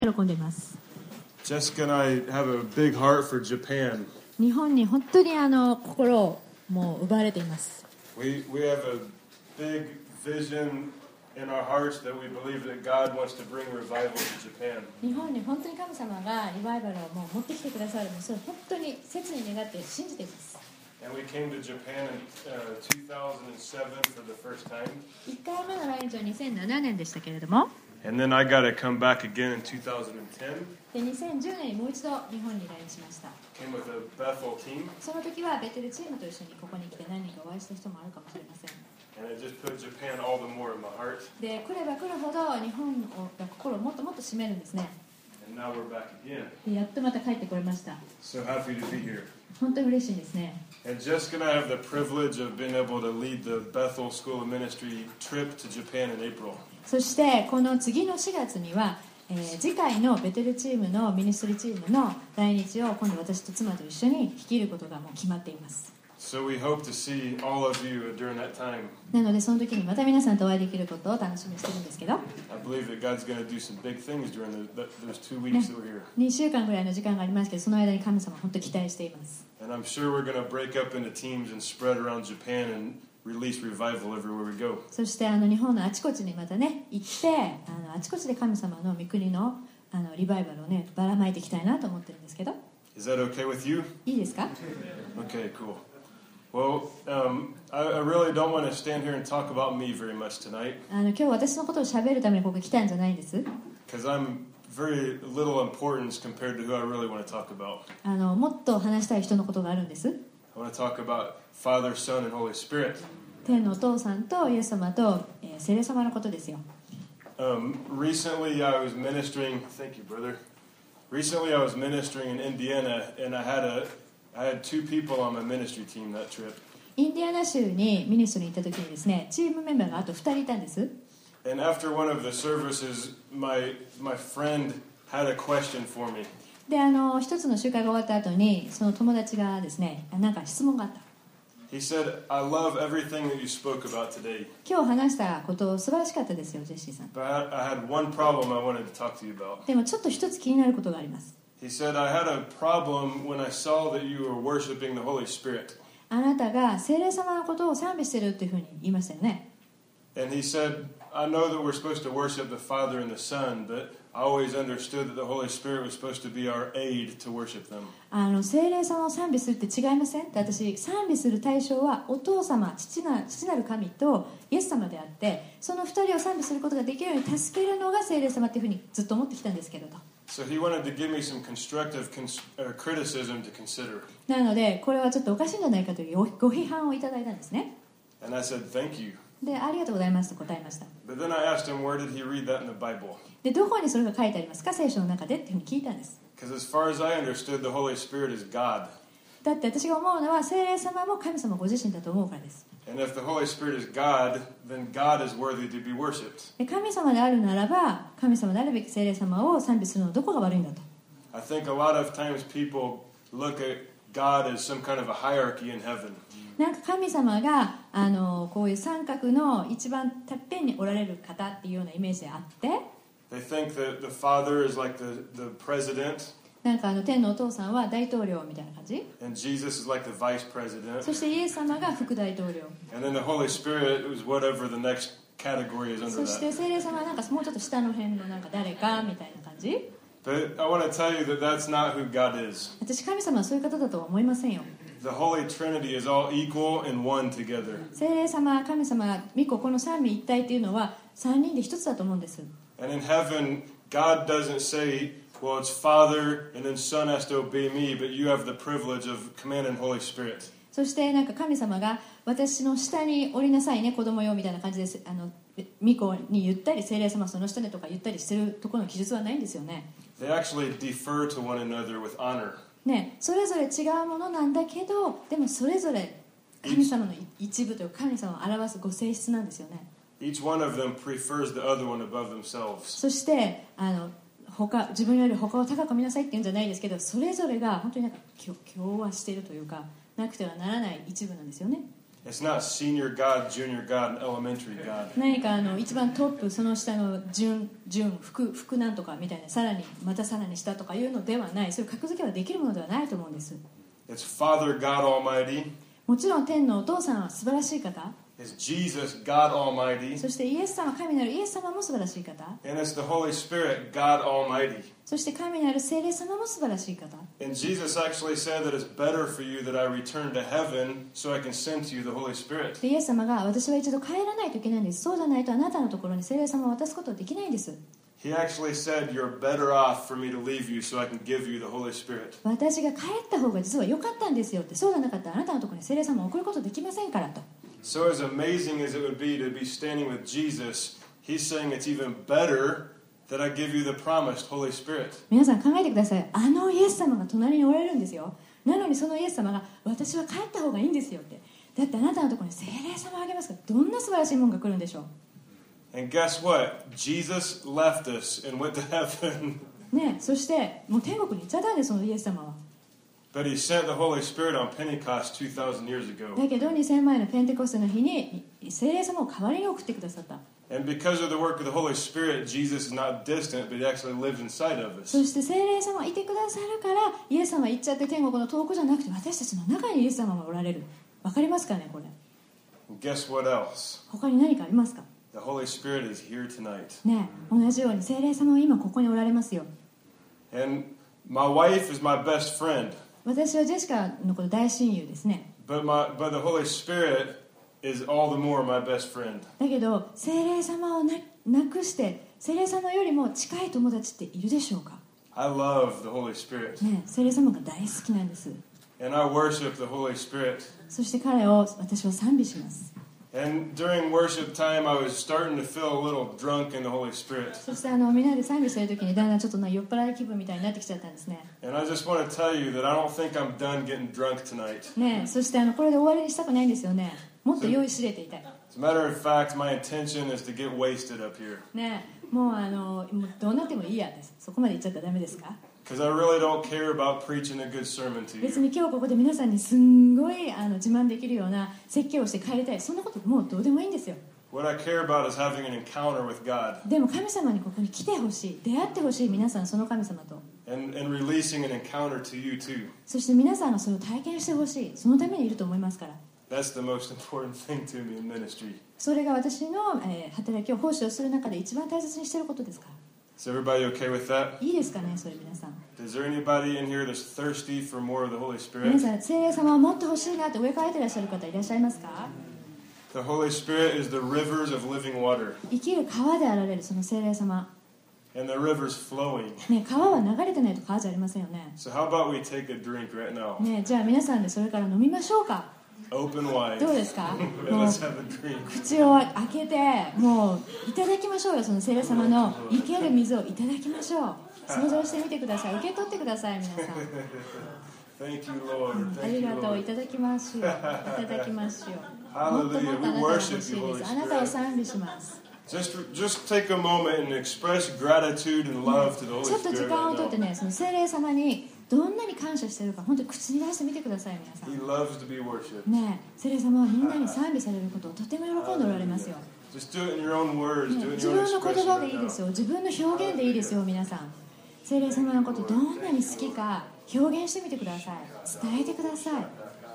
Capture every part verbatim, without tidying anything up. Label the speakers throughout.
Speaker 1: 喜んでいます。
Speaker 2: Jessica and I have a big heart for Japan.
Speaker 1: 日本に本当にあの心をもう奪われています。
Speaker 2: We we have a big vision in our hearts that we believe that God wants to bring revival to Japan.
Speaker 1: 日本に本当に神様がリバイバルをもう持ってきてくださるのをそれ本当に切に願って信じています。
Speaker 2: And we came to Japan in uh, two thousand seven for the first time.
Speaker 1: いっかいめの来日はにせんななねんでしたけれども。
Speaker 2: And then I got to come back again in two thousand ten.
Speaker 1: でにせんじゅうねんにもう一度日本に来日しました。
Speaker 2: Came with a Bethel team.
Speaker 1: その時はベテルチームと一緒にここに来て何人かお会いした人もあるかもしれません。
Speaker 2: And it just put Japan all the more in my heart.
Speaker 1: で来れば来るほど日本が心をもっともっと締めるんですね。
Speaker 2: And now we're back again.
Speaker 1: でやっとまた帰ってこれました。
Speaker 2: So happy to be here.
Speaker 1: 本当に嬉しいですね。
Speaker 2: And Jessica and I have the privilege of being able to lead the Bethel School of Ministry trip to Japan in April.
Speaker 1: そしてこの次のしがつには、えー、次回のベテルチームのミニストリーチームの来日を今度私と妻と一緒に率いることがもう決まっています。
Speaker 2: So we hope to see all of you during that time.
Speaker 1: なのでその時にまた皆さんとお会いできることを楽しみにしてるんですけど、
Speaker 2: I believe that God's going to do some big things during the, those two weeks that we're here.
Speaker 1: にしゅうかんぐらいの時間がありますけど、その間に神様本当に期待しています。
Speaker 2: And I'm sure we're going to break up into teams and spread around Japan and release revival everywhere we go.
Speaker 1: そしてあの日本のあちこちにまたね行ってあのあちこちで神様の御国のあのリバイバルをねばらまいていきたいなと思ってるんですけど。
Speaker 2: Is that okay with you?
Speaker 1: いいですか？
Speaker 2: Okay, cool. Well, um, I, I really don't want to stand here and talk about me very much tonight.
Speaker 1: あの今日私のことを喋るためにここに来たんじゃないんです。
Speaker 2: Because I'm very little importance compared to who I really want to talk about.
Speaker 1: あのもっと話したい人のことがあるんです。
Speaker 2: I want to talk about Father, Son, and Holy Spirit.
Speaker 1: 天のお父さんとイエス様と、えー、聖霊様のことですよ。
Speaker 2: Um, recently, I was ministering. Thank you, brother. Recently, I was ministering in Indiana, and I had a, I had two people on my ministry team that trip.
Speaker 1: インディアナ州にミニストに行った時にですね、チームメンバーがあとふたりいたんです。
Speaker 2: And after one of the services, my my friend had a question for me.
Speaker 1: で、あの一つの集会が終わった後にその友達がですね、なんか質問があった。
Speaker 2: He said, "I love everything that you spoke about today,
Speaker 1: 今日話したこと素晴らしかったですよ、ジェシーさん。
Speaker 2: but I, I had one problem I wanted to talk to you about."
Speaker 1: でもちょっと一つ気になることがあります。
Speaker 2: He said, "I had a problem when I saw that you were worshiping the Holy Spirit."
Speaker 1: あなたが聖霊様のことを賛美してるっていうふうに言いましたよね。
Speaker 2: And he said, "I know that we're supposed to worship the Father and the Son, but I always understood that the Holy Spirit was supposed to be our aid to worship them."
Speaker 1: あの聖霊様を賛美するって違いませんって私賛美する対象はお父様 父な、父なる神とイエス様であってそのふたりを賛美することができるように助けるのが聖霊様っていうふうにずっと思ってきたんですけれど
Speaker 2: So he wanted to give me some constructive cons- uh, criticism to consider.
Speaker 1: なのでこれはちょっとおかしいんじゃないかというご批判をいただいたんですね
Speaker 2: And I said, "Thank you."
Speaker 1: でありがとうございますと答えました
Speaker 2: But then I asked him, where did he read that in the Bible?
Speaker 1: でどこにそれが書いてありますか聖書の中でっていうふうに聞いたんです
Speaker 2: Because as far as I understood, the Holy Spirit is God.
Speaker 1: だって私が思うのは聖霊様も神様ご自身だと思うからです
Speaker 2: And if the Holy Spirit is God, then God is worthy to be worshipped.
Speaker 1: で神様であるならば神様であるべき聖霊様を賛美するのはどこが悪いんだと
Speaker 2: I think a lot of times people look at God as some kind of a hierarchy in heaven.
Speaker 1: なんか神様があのこういう三角の一番てっぺんにおられる方っていうようなイメージであって
Speaker 2: They think that the Father is like the, the president,
Speaker 1: なんかあの天のお父さんは大統領みたいな感じ
Speaker 2: and Jesus is like the vice president.
Speaker 1: そしてイエス様が副大統領
Speaker 2: And then the Holy Spirit is whatever the next category is under
Speaker 1: そして
Speaker 2: that.
Speaker 1: 聖霊様はなんかもうちょっと下の辺のなんか誰かみたいな感じ
Speaker 2: But I want to tell you that that's not who God is.
Speaker 1: 私神様はそういう方だとは思いませんよ
Speaker 2: The Holy Trinity is all equal and one together.
Speaker 1: 聖霊様神様御子この三位一体っていうのは三人で一つだと思うんです
Speaker 2: And in heaven, God doesn't say, well, it's Father and then Son has to obey me, but you have the privilege of commanding Holy Spirit.
Speaker 1: そしてなんか神様が私の下に降りなさいね子供よみたいな感じですあの御子に言ったり聖霊様その下でとか言ったりしてるところの記述はないんですよね
Speaker 2: They actually defer to one another with honor.
Speaker 1: ねそれぞれ違うものなんだけどでもそれぞれ神様の一部というか神様を表すご性質なんですよね
Speaker 2: Each one of them prefers the other one above themselves.
Speaker 1: そしてあの他自分より他を高く見なさいっていうんじゃないですけどそれぞれが本当になんか共和しているというかなくてはならない一部なんですよね
Speaker 2: It's not senior God, junior God, and elementary God.
Speaker 1: 何かあの一番トップ、その下の順、順、副、副なんとかみたいな、さらにまたさらに下とかいうのではない、そういう格付けはできるものではないと思うんです。
Speaker 2: It's Father God Almighty.
Speaker 1: もちろん天のお父さんは素晴らしい方。
Speaker 2: It's Jesus, God Almighty.
Speaker 1: そしてイエス様、神なるイエス様も素晴らしい方。
Speaker 2: And it's the Holy Spirit, God Almighty.
Speaker 1: そして神なる聖霊様も素晴らしい方。
Speaker 2: And Jesus actually said that it's better for you that I return to heaven so I can send to you the Holy Spirit.
Speaker 1: でイエス様が私は一度帰らないといけないんです。そうじゃないとあなたのところに聖霊様を渡すことはできないんです。
Speaker 2: He actually said, you're better off for me to leave you so I can give you the Holy Spirit.
Speaker 1: 私が帰った方が実は良かったんですよって。そうじゃなかったらあなたのところに聖霊様を送ることできませんからと。
Speaker 2: So as amazing as it would be to be standing with Jesus, he's saying it's even better that I give you the promised Holy Spirit.
Speaker 1: 皆さん考えてください。あのイエス様が隣におられるんですよ。なのにそのイエス様が私は帰った方がいいんですよって。だってあなたのところに聖霊様をあげますから、どんな素晴らしいものが来るんでしょう。
Speaker 2: And guess what? Jesus left us and went to heaven.
Speaker 1: ね、そしてもう天国に行っちゃったんです、そのイエス様は。
Speaker 2: But he sent the Holy Spirit on Pentecost two thousand years ago.
Speaker 1: だけどにせんまんのペンテコステの日に聖霊様を代わりに送ってくださった。
Speaker 2: And because of the work of the Holy Spirit, Jesus is not distant, but he actually lives inside of us.
Speaker 1: そして聖霊様いてくださるからイエス様行っちゃって天国の遠くじゃなくて私たちの中にイエス様がおられる。わかりますかねこれ。
Speaker 2: And guess what else?
Speaker 1: 他に何かありますか。
Speaker 2: The Holy Spirit is here tonight.
Speaker 1: ね、同じように聖霊様は今ここにおられますよ。
Speaker 2: And my wife is my best friend.
Speaker 1: 私はジェシカのこと大親友ですね。
Speaker 2: But my but the Holy Spirit is all the more my best friend.
Speaker 1: だけど聖霊様をななくして聖霊様よりも近い友達っているでしょうか。
Speaker 2: I love the Holy Spirit.
Speaker 1: ね、聖霊様が大好きなんです。
Speaker 2: And I worship the Holy Spirit.
Speaker 1: そして彼を私は賛美します。
Speaker 2: And during worship time, I was starting to feel a little drunk in the Holy Spirit.
Speaker 1: そしてあのみんなで賛美している時にだんだんちょっとな酔っ払い気分みたいになってきちゃったんですね。
Speaker 2: And I just want to tell you that I don't think I'm done getting drunk tonight.
Speaker 1: ね、そしてあのこれで終わりにしたくないんですよね。もっと酔いしれていたい。
Speaker 2: As a matter of fact, my intention is to get wasted up here.
Speaker 1: ね、もうあのもうどうなってもいいやです。そこまで言っちゃったらダメですか。
Speaker 2: Because I really don't care about preaching a good sermon to
Speaker 1: 別
Speaker 2: you.
Speaker 1: に今日ここで皆さんにすんごいあの自慢できるような説教をして帰りたい、そんなこともうどうでもいいんですよ。
Speaker 2: What I care about is having an encounter with God
Speaker 1: でも神様にここに来てほしい、出会ってほしい、皆さんその神様と。
Speaker 2: and, and releasing an encounter to you too.
Speaker 1: そして皆さんがそれを体験してほしい、そのためにいると思いますから。
Speaker 2: That's the most important thing to me in ministry.
Speaker 1: それが私の、えー働きを奉仕をする中で一番大切にしていることですから。
Speaker 2: Is everybody okay with that?
Speaker 1: いいですかね、それ皆さん。
Speaker 2: Is there anybody in here that's thirsty for more of the Holy
Speaker 1: 皆
Speaker 2: Spirit?
Speaker 1: さん、聖霊様をもっと欲しいなって上からいてらっしゃる方いらっしゃいますか。
Speaker 2: The Holy Spirit is the rivers of living water,
Speaker 1: 生きる川であられるその聖霊様。
Speaker 2: and the river's flowing.
Speaker 1: ね、川は流れてないと川じゃありませんよね。
Speaker 2: So how about we take a drink right now?
Speaker 1: ね、じゃあ皆さんでそれから飲みましょうか。
Speaker 2: Open wide.
Speaker 1: どうですか。
Speaker 2: And
Speaker 1: もう
Speaker 2: let's have a drink.
Speaker 1: 口を開けてもういただきましょうよ、その聖霊様の生ける水をいただきましょう。想像してみてください。受け取ってください皆さん。
Speaker 2: Thank you, Lord.
Speaker 1: あ
Speaker 2: Thank
Speaker 1: り
Speaker 2: you,
Speaker 1: がとう、い
Speaker 2: Lord.
Speaker 1: ただきますよ。いただきますよ。もっと
Speaker 2: Hallelujah.
Speaker 1: もっとあな
Speaker 2: We
Speaker 1: たが欲
Speaker 2: worship
Speaker 1: しい
Speaker 2: you,
Speaker 1: で
Speaker 2: Holy
Speaker 1: す。あなたを
Speaker 2: Spirit.
Speaker 1: 賛美します。
Speaker 2: Just, just take a moment and express gratitude and love to the Holy
Speaker 1: ちょっと時
Speaker 2: Spirit
Speaker 1: 間を
Speaker 2: right
Speaker 1: とって
Speaker 2: now.
Speaker 1: ね、その聖霊様にどんなに感謝しているか本当に口に出してみてください皆さん。
Speaker 2: He loves to be worshipped.
Speaker 1: ねえ、聖霊様はみんなに賛美されることをとても喜んでおられますよ。
Speaker 2: Just do it in your own words.
Speaker 1: ね
Speaker 2: Do it in
Speaker 1: 自
Speaker 2: your
Speaker 1: 分
Speaker 2: own
Speaker 1: の言
Speaker 2: expression
Speaker 1: 葉で
Speaker 2: right
Speaker 1: いいです
Speaker 2: now.
Speaker 1: よ。自分の表現でいいですよ皆さん。聖霊様のことどんなに好きか表現してみてください。伝えてください。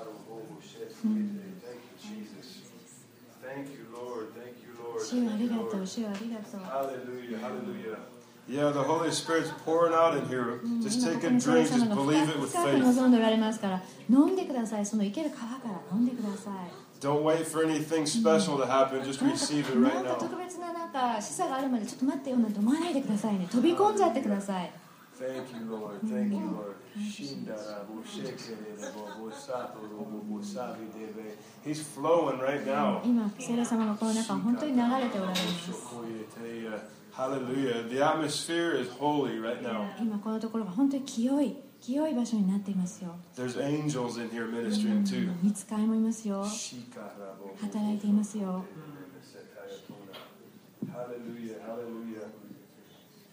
Speaker 2: Thank you, Lord. Thank you, Lord.
Speaker 1: 主よありがとう、主よありがとう。
Speaker 2: Hallelujah. Hallelujah. Yeah, the Holy Spirit's pouring out in here.
Speaker 1: うん
Speaker 2: Just
Speaker 1: 今
Speaker 2: take
Speaker 1: ここ
Speaker 2: a
Speaker 1: に聖霊
Speaker 2: drink.
Speaker 1: 様
Speaker 2: Just
Speaker 1: が
Speaker 2: believe it
Speaker 1: 深
Speaker 2: with
Speaker 1: く深く
Speaker 2: faith.
Speaker 1: 望んでおられますから飲んでください。その生ける川から飲んでください。
Speaker 2: Don't wait for anything special to happen. Just
Speaker 1: なんか
Speaker 2: receive it
Speaker 1: な
Speaker 2: right
Speaker 1: んか
Speaker 2: now.
Speaker 1: 特別ななんか示唆があるまでちょっと待ってよなんて思わないでくださいね。飛び込んじゃってください。
Speaker 2: Thank you, Lord. Thank you, Lord. Shindara bo shekere bo bo sato ro bo bo sabi debe. He's flowing right now.
Speaker 1: 今聖霊様のこの中は本当に流れておられます。
Speaker 2: Hallelujah. The atmosphere is holy right now.
Speaker 1: 今このところが本当に清い清い場所になっていますよ。
Speaker 2: There's angels in here ministering too.
Speaker 1: 御使いもいますよ。働いていますよ。
Speaker 2: Hallelujah. Hallelujah. Thank you,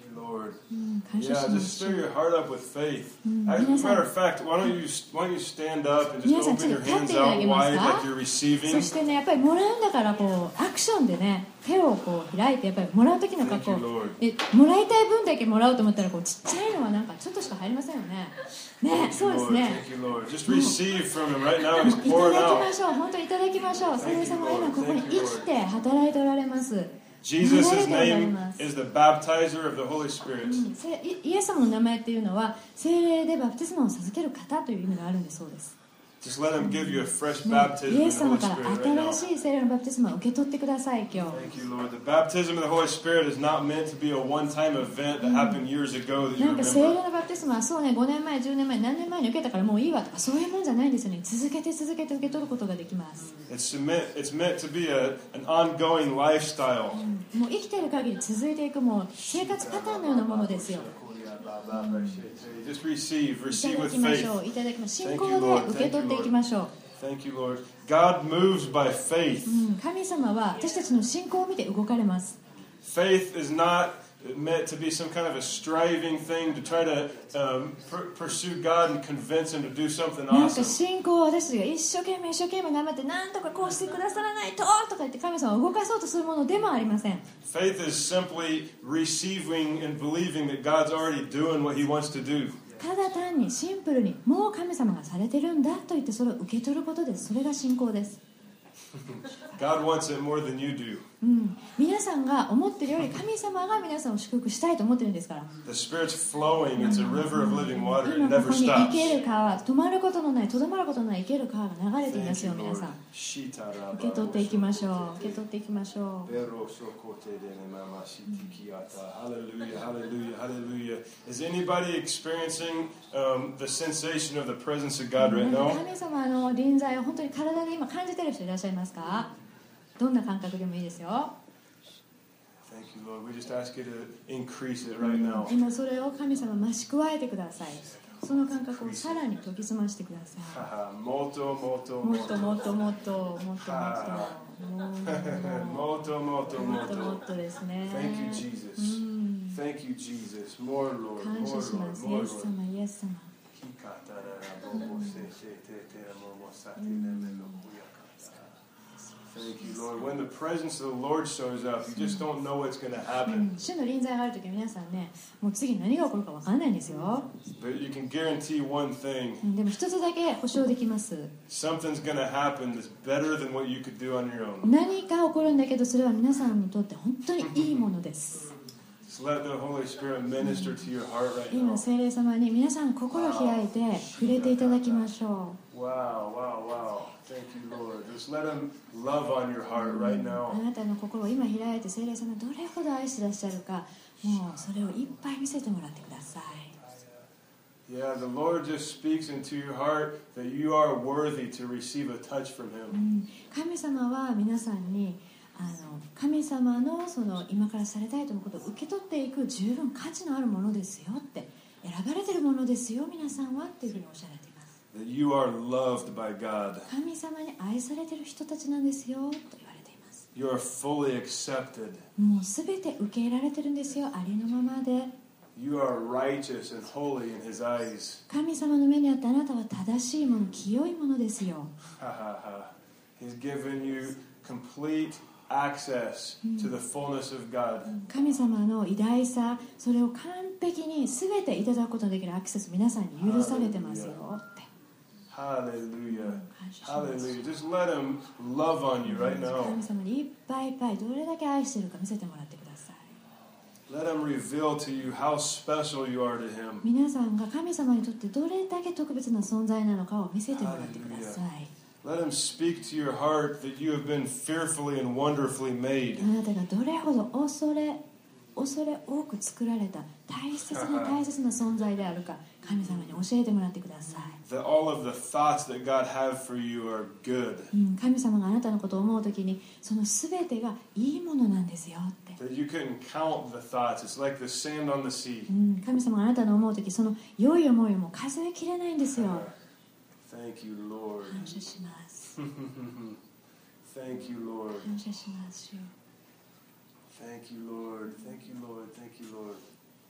Speaker 2: you, Lord.
Speaker 1: うん感謝
Speaker 2: Yeah,
Speaker 1: しま
Speaker 2: just
Speaker 1: す
Speaker 2: stir your heart up with faith.
Speaker 1: Mm,
Speaker 2: As a
Speaker 1: 皆さん。
Speaker 2: matter of fact, why don't you why don't you stand up and just
Speaker 1: 皆さん、
Speaker 2: open your
Speaker 1: ちょっと立って
Speaker 2: hands
Speaker 1: いただ
Speaker 2: out
Speaker 1: けます
Speaker 2: wide
Speaker 1: か？
Speaker 2: like you're receiving?
Speaker 1: そしてね、やっぱりもらうんだからこうアクションでね、手をこう開いて、やっぱりもらう時の格
Speaker 2: Thank
Speaker 1: 好
Speaker 2: you, Lord.
Speaker 1: えもらいたい分だけもらおうと思ったらこうちっちゃいのはなんかちょっとしか入りませんよね。ね、
Speaker 2: Thank
Speaker 1: そう
Speaker 2: you,
Speaker 1: です
Speaker 2: Lord.
Speaker 1: ね。
Speaker 2: Thank you, Lord. Just receive from him right now. He's
Speaker 1: いた
Speaker 2: pouring
Speaker 1: だき
Speaker 2: out.
Speaker 1: ましょう。本当にいただきましょう。聖霊様は今ここに生きて働いておられます。
Speaker 2: Jesus'
Speaker 1: 流れておられ
Speaker 2: name
Speaker 1: ます
Speaker 2: is the baptizer of the Holy Spirit.
Speaker 1: うんせイイエス様の名前っていうのは聖霊でバプテスマを授ける方という意味があるんだそうです。
Speaker 2: Just let him give you a fresh
Speaker 1: ね
Speaker 2: baptism
Speaker 1: イ
Speaker 2: in
Speaker 1: エ
Speaker 2: the
Speaker 1: ス様
Speaker 2: Holy
Speaker 1: から
Speaker 2: Spirit right now.
Speaker 1: 新しい聖霊のバプテスマを受け取ってください今日。
Speaker 2: Thank you, Lord. The baptism of the Holy Spirit is not meant to be a one-time event that happened years ago that you
Speaker 1: なんか聖霊
Speaker 2: remember.
Speaker 1: のバプテスマはそうねごねんまえじゅうねんまえ何年前に受けたからもういいわとかそういうもんじゃないんですよね。続けて続けて受け取ることができます。
Speaker 2: It's meant, it's meant to be a, an ongoing lifestyle.
Speaker 1: もう生きている限り続いていくもう生活パターンのようなものですよ。
Speaker 2: Just receive,
Speaker 1: いた
Speaker 2: receive
Speaker 1: だ
Speaker 2: with
Speaker 1: きまし
Speaker 2: faith.
Speaker 1: ょう。いただきます。信
Speaker 2: Thank
Speaker 1: 仰
Speaker 2: you, Lord.
Speaker 1: で受け取っていきましょう。
Speaker 2: Thank you, Lord. God moves by faith.
Speaker 1: うん神様は私たちの信仰を見て動かれます。
Speaker 2: Faith is not meant to be some kind of a striving thing to try to um, pr- pursue God and convince Him to do something
Speaker 1: なんか
Speaker 2: awesome.
Speaker 1: 信仰を私たちが一生懸命一生懸命頑張ってなんとかこうしてくださらないととか言って神様を動かそうとするものでもありません。
Speaker 2: Faith is simply receiving and believing that God's already doing what He wants to do.
Speaker 1: ただ単にシンプルにもう神様がされてるんだと言ってそれを受け取ることです。それが信仰です。
Speaker 2: God wants it more than you do.
Speaker 1: うん、皆さんが思ってるより神様が皆さんを祝福したいと思ってるんですから。
Speaker 2: The Spirit's flowing. It's a river of living water. It
Speaker 1: 今こ
Speaker 2: never
Speaker 1: こに生
Speaker 2: stops.
Speaker 1: ける川、止まることのない、とどまることのない生ける川が流れていますよ皆さん。受け取っていきましょう。受け取っていきましょう。
Speaker 2: Hallelujah, hallelujah, hallelujah. Is anybody experiencing um, the sensation of the presence of God right
Speaker 1: なんか
Speaker 2: now?
Speaker 1: 神様の臨在を本当に体で今感じている人いらっしゃいますか？どんな感覚でもいいですよ。
Speaker 2: Thank you, Lord. We just ask you to increase it right now.
Speaker 1: 今それを神様増し加えてください。その感覚をさらに研ぎ澄ましてください。
Speaker 2: Moto, moto,
Speaker 1: もっと
Speaker 2: moto.
Speaker 1: もっともっともっともっともっ
Speaker 2: Moto,
Speaker 1: と
Speaker 2: moto,
Speaker 1: もっともっ
Speaker 2: moto.
Speaker 1: とですね。
Speaker 2: Thank you, Jesus.
Speaker 1: うん
Speaker 2: Thank you, Jesus. More, Lord.
Speaker 1: 感
Speaker 2: More,
Speaker 1: 謝しま
Speaker 2: Lord.
Speaker 1: す。イ
Speaker 2: More,
Speaker 1: エス
Speaker 2: Lord.
Speaker 1: 様、イエス様。
Speaker 2: Thank you, Lord. When the presence of the Lord shows up, you just don't know what's going to
Speaker 1: う
Speaker 2: happen.
Speaker 1: ん主の臨在があるとき皆さんね、もう次何が起こるか分からないんですよ。
Speaker 2: But you can guarantee one thing.
Speaker 1: うんでも一つだけ保証できます。
Speaker 2: Something's going to happen that's better than what you could do on your own.
Speaker 1: 何か起こるんだけどそれは皆さんにとって本当にいいものです。
Speaker 2: Just let the Holy Spirit minister to your heart right
Speaker 1: 今
Speaker 2: now.
Speaker 1: 聖霊様に皆さん心を開いて触れていただきましょ
Speaker 2: Wow, wow, wow. Thank you, Lord. Just let Him love on your heart right
Speaker 1: う。
Speaker 2: now.
Speaker 1: あなたの心を今開いて聖霊様どれほど愛してらっしゃるかもうそれをいっぱい見せてもらってください。
Speaker 2: Yeah, the Lord just speaks into your heart that you are worthy to receive a touch from
Speaker 1: う
Speaker 2: Him.
Speaker 1: ん神様は皆さんにあの神様のその今からされたいと思うことを受け取っていく十分価値のあるものですよって選ばれているものですよ皆さんはっていうふうにおっしゃられています。
Speaker 2: That you are loved by God.
Speaker 1: 神様に愛されている人たちなんですよと言われています。
Speaker 2: You are fully accepted.
Speaker 1: もうすべて受け入れられてるんですよありのままで。
Speaker 2: You are righteous and holy in His eyes.
Speaker 1: 神様の目にあってあなたは正しいもの清いものですよ。
Speaker 2: Ha ha ha. He's given you complete access to the fullness of God.
Speaker 1: 神様の偉大さそれを完璧に全ていただくことのできるアクセス皆さんに許されてますよって。
Speaker 2: Hallelujah.
Speaker 1: 感謝します
Speaker 2: Hallelujah. Just let Him love on you right now.
Speaker 1: 神様にいっぱいいっぱいどれだけ愛しているか見せてもらってください。
Speaker 2: Let Him reveal to you how special you are to Him.
Speaker 1: 皆さんが神様にとってどれだけ特別な存在なのかを見せてもらってください。
Speaker 2: Let Him speak to your heart that you have been fearfully and wonderfully made.
Speaker 1: あなたがどれほど恐れ恐れ多く作られた大切な大切な存在であるか神様に教えてもらってください。
Speaker 2: That all of the thoughts that God has for you are good.
Speaker 1: うん神様があなたのことを思うときにその全てがいいものなんですよって。
Speaker 2: That you couldn't count the thoughts. It's like the sand on the sea.
Speaker 1: うん神様があなたの思うときその良い思いも数えきれないんですよ。
Speaker 2: Thank you, Lord.
Speaker 1: 感謝します。
Speaker 2: Thank you, Lord.
Speaker 1: 感謝します。
Speaker 2: Thank you, Lord. Thank you, Lord. Thank you, Lord.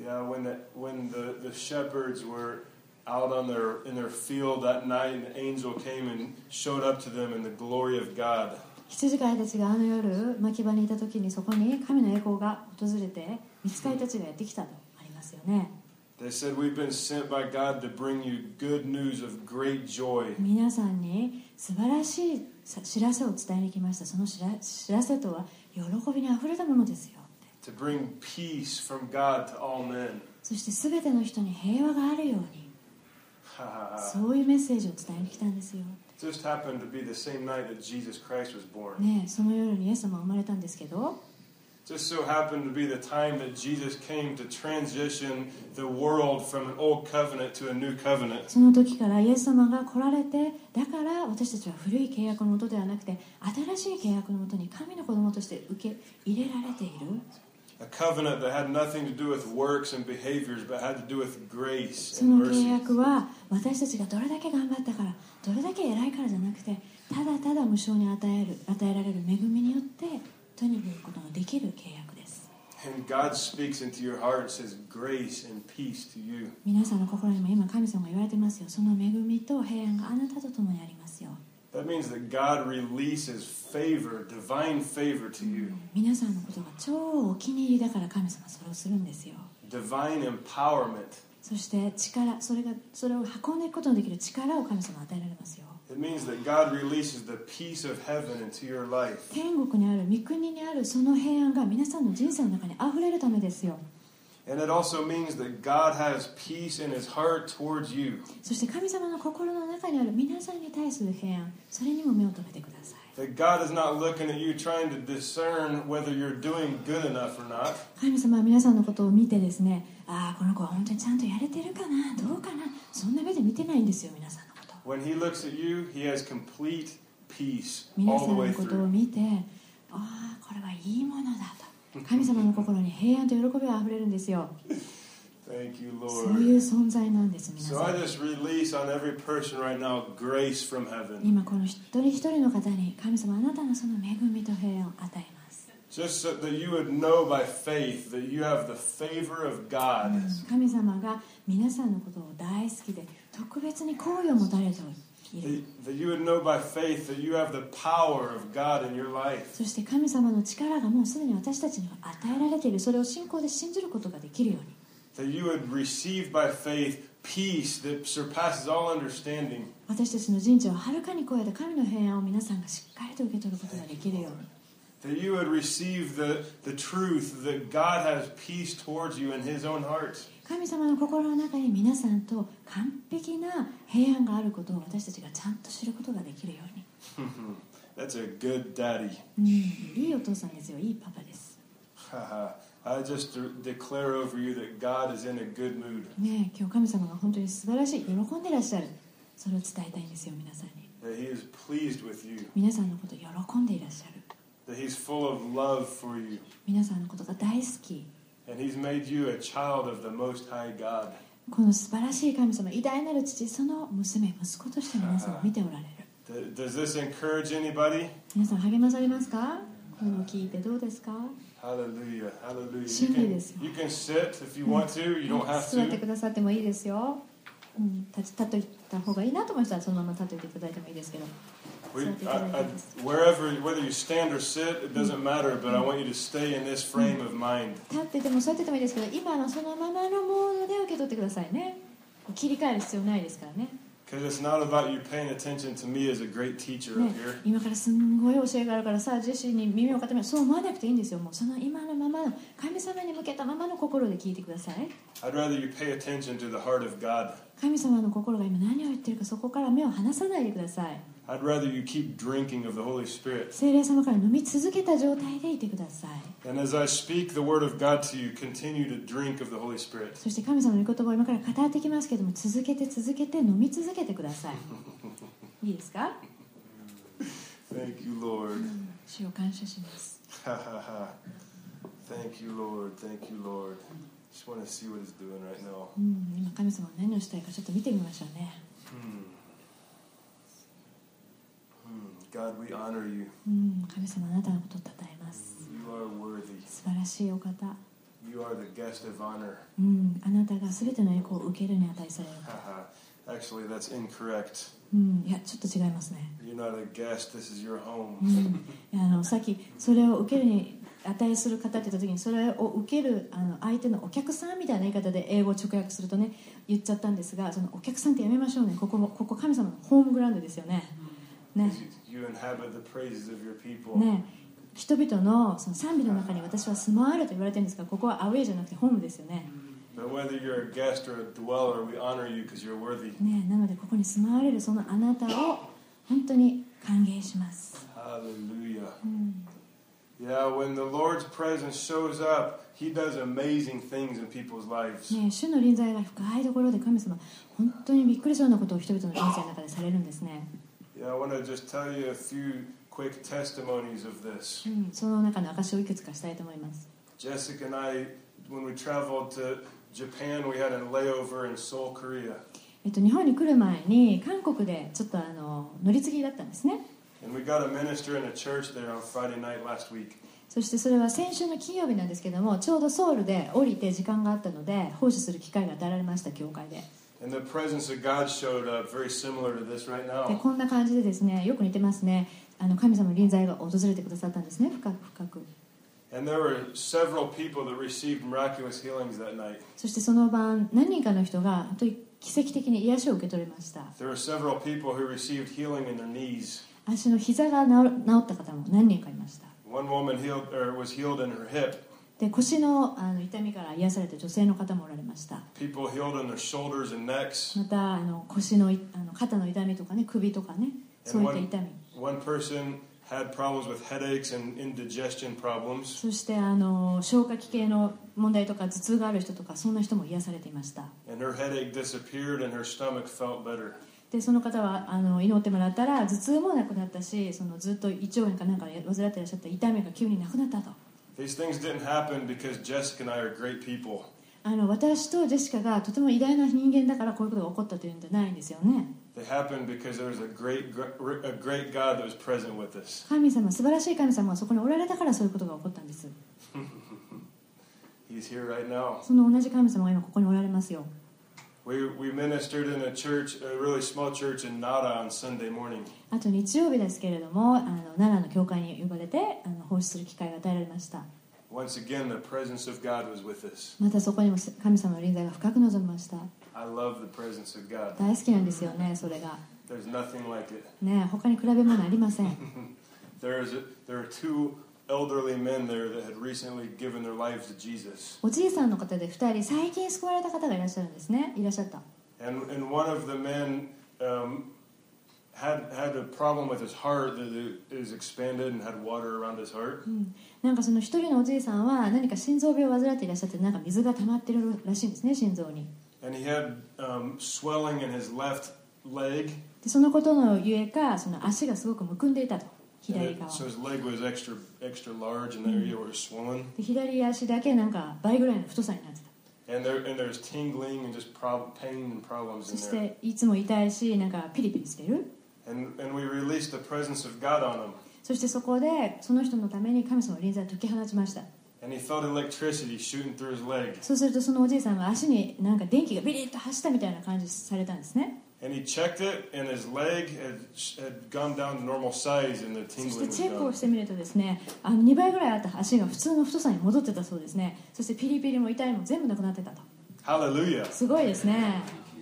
Speaker 2: Yeah, when the when the, the shepherds were out on their in their field that night, and the angel came and showed up to them in the glory of God.
Speaker 1: 羊飼いたちがあの夜牧場にいた時にそこに神の栄光が訪れて御使いたちがやってきたとありますよね。
Speaker 2: They said, "We've been sent by God to bring you good news of great joy."
Speaker 1: 皆さんに素晴らしい知らせを伝えに来ました。その知ら、知らせとは喜びにあふれたものですよ。
Speaker 2: To bring peace from God to all men.
Speaker 1: そして全ての人に平和があるように、そういうメッセージを伝えに来たんですよ。
Speaker 2: It just happened to be the same night that Jesus Christ was born.
Speaker 1: ね、その夜にイエス様が生まれたんですけど、
Speaker 2: Just so happened to be the time that Jesus came to transition the world from an old covenant to a new covenant.
Speaker 1: その時からイエス様が来られて、だから私たちは古い契約のもとではなくて新しい契約のもとに神の子供として受け入れられている。
Speaker 2: A covenant that had nothing to do with works and behaviors, but had to do with grace
Speaker 1: そ
Speaker 2: and
Speaker 1: の契
Speaker 2: mercy.
Speaker 1: 約は私たちがどれだけ頑張ったからどれだけ偉いからじゃなくて、ただただ無償に与える与えられる恵みによって手に入れることのできる契約です。
Speaker 2: And God speaks into your heart and says grace and peace to you.
Speaker 1: 皆さんの心にも今神様が言われてますよ。その恵みと平安があなたと共にありますよ。
Speaker 2: That means that God releases favor, divine favor to you.
Speaker 1: 皆さんのことが超お気に入りだから神様はそれをするんですよ。
Speaker 2: Divine empowerment.
Speaker 1: そして力、それがそれを運んでいくことのできる力を神様は与えられますよ。
Speaker 2: It means that God releases the peace of heaven into your life.
Speaker 1: 天国にある御国にあるその平安が皆さんの人生の中にあふれるためですよ。
Speaker 2: And it also means that God has peace in his heart towards you.
Speaker 1: そして神様の心の中にある皆さんに対する平安、それにも目を留めてください。
Speaker 2: That God is not looking at you trying to discern whether you're doing good enough or not.
Speaker 1: 神様は皆さんのことを見てですね、ああこの子は本当にちゃんとやれてるかな、どうかな、そんな目で見てないんですよ。皆さんのこと
Speaker 2: When he looks at you, he has complete peace
Speaker 1: 皆
Speaker 2: all
Speaker 1: さ
Speaker 2: the
Speaker 1: ん
Speaker 2: way
Speaker 1: のことを
Speaker 2: through.
Speaker 1: 見て、ああこれはいいものだと神様の心に平安と喜びがあふれるんですよ。
Speaker 2: Thank you,
Speaker 1: そう
Speaker 2: Lord.
Speaker 1: いう存在なんです。皆
Speaker 2: So
Speaker 1: さ
Speaker 2: I
Speaker 1: ん
Speaker 2: just release on every person right now grace from heaven.
Speaker 1: 今この一人一人の方に神様あなたのその恵みと平安を与えます。
Speaker 2: Just so that you would know by faith that you have the favor of God.
Speaker 1: 神様が皆さんのことを大好きで特別に好意を持たれている。
Speaker 2: That that you would know by faith that you have the power of God in your life.
Speaker 1: そして神様の力がもうすでに私たちに与えられている。それを信仰で信じることができるように。
Speaker 2: That you would receive by faith peace that surpasses all understanding.
Speaker 1: 私たちの人生をはるかに超えた神の平安を皆さんがしっかりと受け取ることができるように。
Speaker 2: That you would receive the, the truth that God has peace towards you in his own heart.
Speaker 1: 神様の心の中に皆さんと完璧な平安があることを私たちがちゃんと知ることができるように。
Speaker 2: That's a good daddy.
Speaker 1: うん、いいお父さんですよ。いいパパです。
Speaker 2: I just declare over you that God is in a good mood.
Speaker 1: ねえ、今日神様が本当に素晴らしい、喜んでいらっしゃる。それを伝えたいんですよ、皆さんに。
Speaker 2: That he is pleased with you.
Speaker 1: 皆さんのことを喜んでいらっしゃる。
Speaker 2: That he's full of love for you.
Speaker 1: 皆さんのことが大好き。
Speaker 2: And he's made you a child of the Most High God.
Speaker 1: この素晴らしい神様、偉大なる父、その娘、息子として皆さんを見ておられる。
Speaker 2: Does this encourage anybody?
Speaker 1: 皆さん励まされますか？このを聞いてどうですか？
Speaker 2: Hallelujah, hallelujah.
Speaker 1: 真
Speaker 2: You
Speaker 1: 理で
Speaker 2: can,
Speaker 1: すよ。
Speaker 2: you can sit if you want to. You don't have
Speaker 1: 座って
Speaker 2: to.
Speaker 1: くださってもいいですよ。うん、立ち立っといた方がいいなと思う人はそのまま立っておいていただいてもいいですけど。
Speaker 2: We,
Speaker 1: 座ってい
Speaker 2: I,
Speaker 1: ただいて
Speaker 2: I,
Speaker 1: いいです。
Speaker 2: wherever, whether you stand or sit, it doesn't matter. But I want you to stay in this frame of mind.
Speaker 1: 立ってても座っててもいいですけど、今のそのままのモードで受け取ってくださいね。切り替える必要ないですからね。
Speaker 2: Because it's not about you paying attention to me as a great teacher
Speaker 1: ね
Speaker 2: up here.
Speaker 1: 今からすんごい教えがあるからさあジェシーに耳を傾ける、そう思わなくていいんですよ。もうその今のままの神様に向けたままの心で聞いてください。
Speaker 2: I'd rather you pay attention to the heart of God.
Speaker 1: 神様の心が今何を言ってるか、そこから目を離さないでください。
Speaker 2: I'd rather you keep drinking of the Holy Spirit.
Speaker 1: 聖霊様から飲み続けた状態でいてください。
Speaker 2: And as I speak the word of God to you, continue to drink of the Holy Spirit.
Speaker 1: そして神様の御言葉を今から語ってきますけども、続けて続けて飲み続けてください。いいですか？
Speaker 2: Thank you, Lord.
Speaker 1: 主を感謝します。
Speaker 2: Thank you, Lord. Thank you, Lord. Just want to see what He's doing right now.
Speaker 1: うん、今神様が何をしたいかちょっと見てみましょうね。
Speaker 2: Hmm. Hmm. God, we honor you.
Speaker 1: うん、神様あなたのことを称えます。
Speaker 2: You are worthy.
Speaker 1: 素晴らしいお方。
Speaker 2: You You are the guest of honor.
Speaker 1: うん、あなたが全ての栄光を受けるに値される。
Speaker 2: Actually, that's incorrect.
Speaker 1: うん、いやちょっと違いますね。
Speaker 2: You're not a guest. This is your home.
Speaker 1: うん、いやあのさっきそれを受けるに値する方って言った時に、それを受けるあの相手のお客さんみたいな言い方で英語を直訳するとね言っちゃったんですが、そのお客さんってやめましょうね。ここもここ神様のホームグラウンドですよね。ね。
Speaker 2: You inhabit the praises of your people.
Speaker 1: ね。人々のその賛美の中に私は住まわれと言われてるんですが、ここはアウェイじゃなくてホームですよね。
Speaker 2: But whether you're a guest or a dweller, we honor you because you're worthy.
Speaker 1: ね、なのでここに住まわれるそのあなたを本当に歓迎します。
Speaker 2: Hallelujah.
Speaker 1: うん、
Speaker 2: Yeah, when the Lord's presence shows up, He does amazing things in people's lives.
Speaker 1: ね、主の臨在が深いところで神様本当にびっくりするようなことを人々の人生の中でされるんですね。
Speaker 2: Yeah, I want to just tell you a few quick testimonies of this.
Speaker 1: うん、その中の証をいくつかしたいと思います。
Speaker 2: Jessica and I, when we traveled to Japan, we had a layover in Seoul, Korea.
Speaker 1: えっと、日本に来る前に韓国でちょっとあの乗り継ぎだったんですね。
Speaker 2: And we got a minister in a church there on Friday night last week.
Speaker 1: そしてそれは先週の金曜日なんですけども、ちょうどソウルで降りて時間があったので奉仕する機会が与えられました、教会で。
Speaker 2: And the presence of God showed up, very similar to this right
Speaker 1: で
Speaker 2: now.
Speaker 1: こんな感じでですね、よく似てますね。あの神様の臨在が訪れてくださったんですね、深く深く。
Speaker 2: And there were several people that received miraculous healings that night.
Speaker 1: そしてその晩何人かの人が本当に奇跡的に癒しを受け取れました。
Speaker 2: There were several people who received healing in their knees.
Speaker 1: 足の膝が治治った方も何人かいました。
Speaker 2: One woman healed, or was healed in her hip.
Speaker 1: で腰 の, あの痛みから癒された女性の方もおられました。
Speaker 2: People healed in their shoulders and necks.
Speaker 1: またあの腰のあの肩の痛みとかね、首とかね、そういった痛み。
Speaker 2: One person had problems with headaches and indigestion problems.
Speaker 1: そしてあの消化器系の問題とか頭痛がある人とか、そんな人も癒されていました。
Speaker 2: And her headache disappeared and her stomach felt better.
Speaker 1: でその方はあの祈ってもらったら頭痛もなくなったし、そのずっと胃腸炎かなんかで患っていらっしゃった痛みが急になくなったと。
Speaker 2: These things didn't happen because Jessica and I are great people.
Speaker 1: あの私とジェシカがとても偉大な人間だからこういうことが起こったというんじゃないんですよね。
Speaker 2: They happened because there was a great, a great God that was present with us.
Speaker 1: 神様、素晴らしい神様がそこにおられたからそういうことが起こったんです。
Speaker 2: He's here right now.
Speaker 1: その同じ神様が今ここにおられますよ。
Speaker 2: We, we ministered in a church, a really small church in Nara on Sunday morning.
Speaker 1: あと日曜日ですけれども、あの奈良の教会に呼ばれてあの奉仕する機会が与えられました。
Speaker 2: Once again, the presence of God was with us.
Speaker 1: またそこにも神様の臨在が深く望みました。
Speaker 2: I love the presence of God.
Speaker 1: 大好きなんですよね、それが。
Speaker 2: There's nothing like it.
Speaker 1: ね、他に比べ物ありません。
Speaker 2: There is a, there are two elderly men there that had recently given their lives to Jesus.
Speaker 1: おじいさんの方でふたり最近救われた方がいらっしゃるんですね。いらっしゃった。
Speaker 2: And, and one of the men um, had, had a problem with his heart that it is expanded and had water around his heart.
Speaker 1: うん、なんかその一人のおじいさんは何か心臓病を患っていらっしゃって、なんか水が溜まってるらしいんですね、心臓に。
Speaker 2: And he had um, swelling in his left leg.
Speaker 1: でそのことのゆえか、その足がすごくむくんでいたと、
Speaker 2: And
Speaker 1: 左
Speaker 2: it,
Speaker 1: 側。
Speaker 2: so his leg was extra extra large in the area where it was swollen.
Speaker 1: で左足だけなんか倍ぐらいの太さになってた。
Speaker 2: And there and there's tingling and just prob- pain and problems
Speaker 1: そ
Speaker 2: in
Speaker 1: し
Speaker 2: there.
Speaker 1: ていつも痛いし、なんかピリピリしている。
Speaker 2: And, and we released the presence of God on him.
Speaker 1: そしてそこでその人のために神様の臨在を解き放ちました。
Speaker 2: And he felt electricity shooting through his leg.
Speaker 1: そうするとそのおじいさんが足になんか電気がビリッと走ったみたいな感じされたんですね。
Speaker 2: And he checked it, and his leg had, had gone down to normal size, and the
Speaker 1: そし
Speaker 2: tingling
Speaker 1: て
Speaker 2: was
Speaker 1: チェックを
Speaker 2: gone.
Speaker 1: してみるとですね、あのにばいぐらいあった足が普通の太さに戻ってたそうですね。そしてピリピリも痛いも全部なくなってたと。
Speaker 2: Hallelujah.
Speaker 1: すごいですね。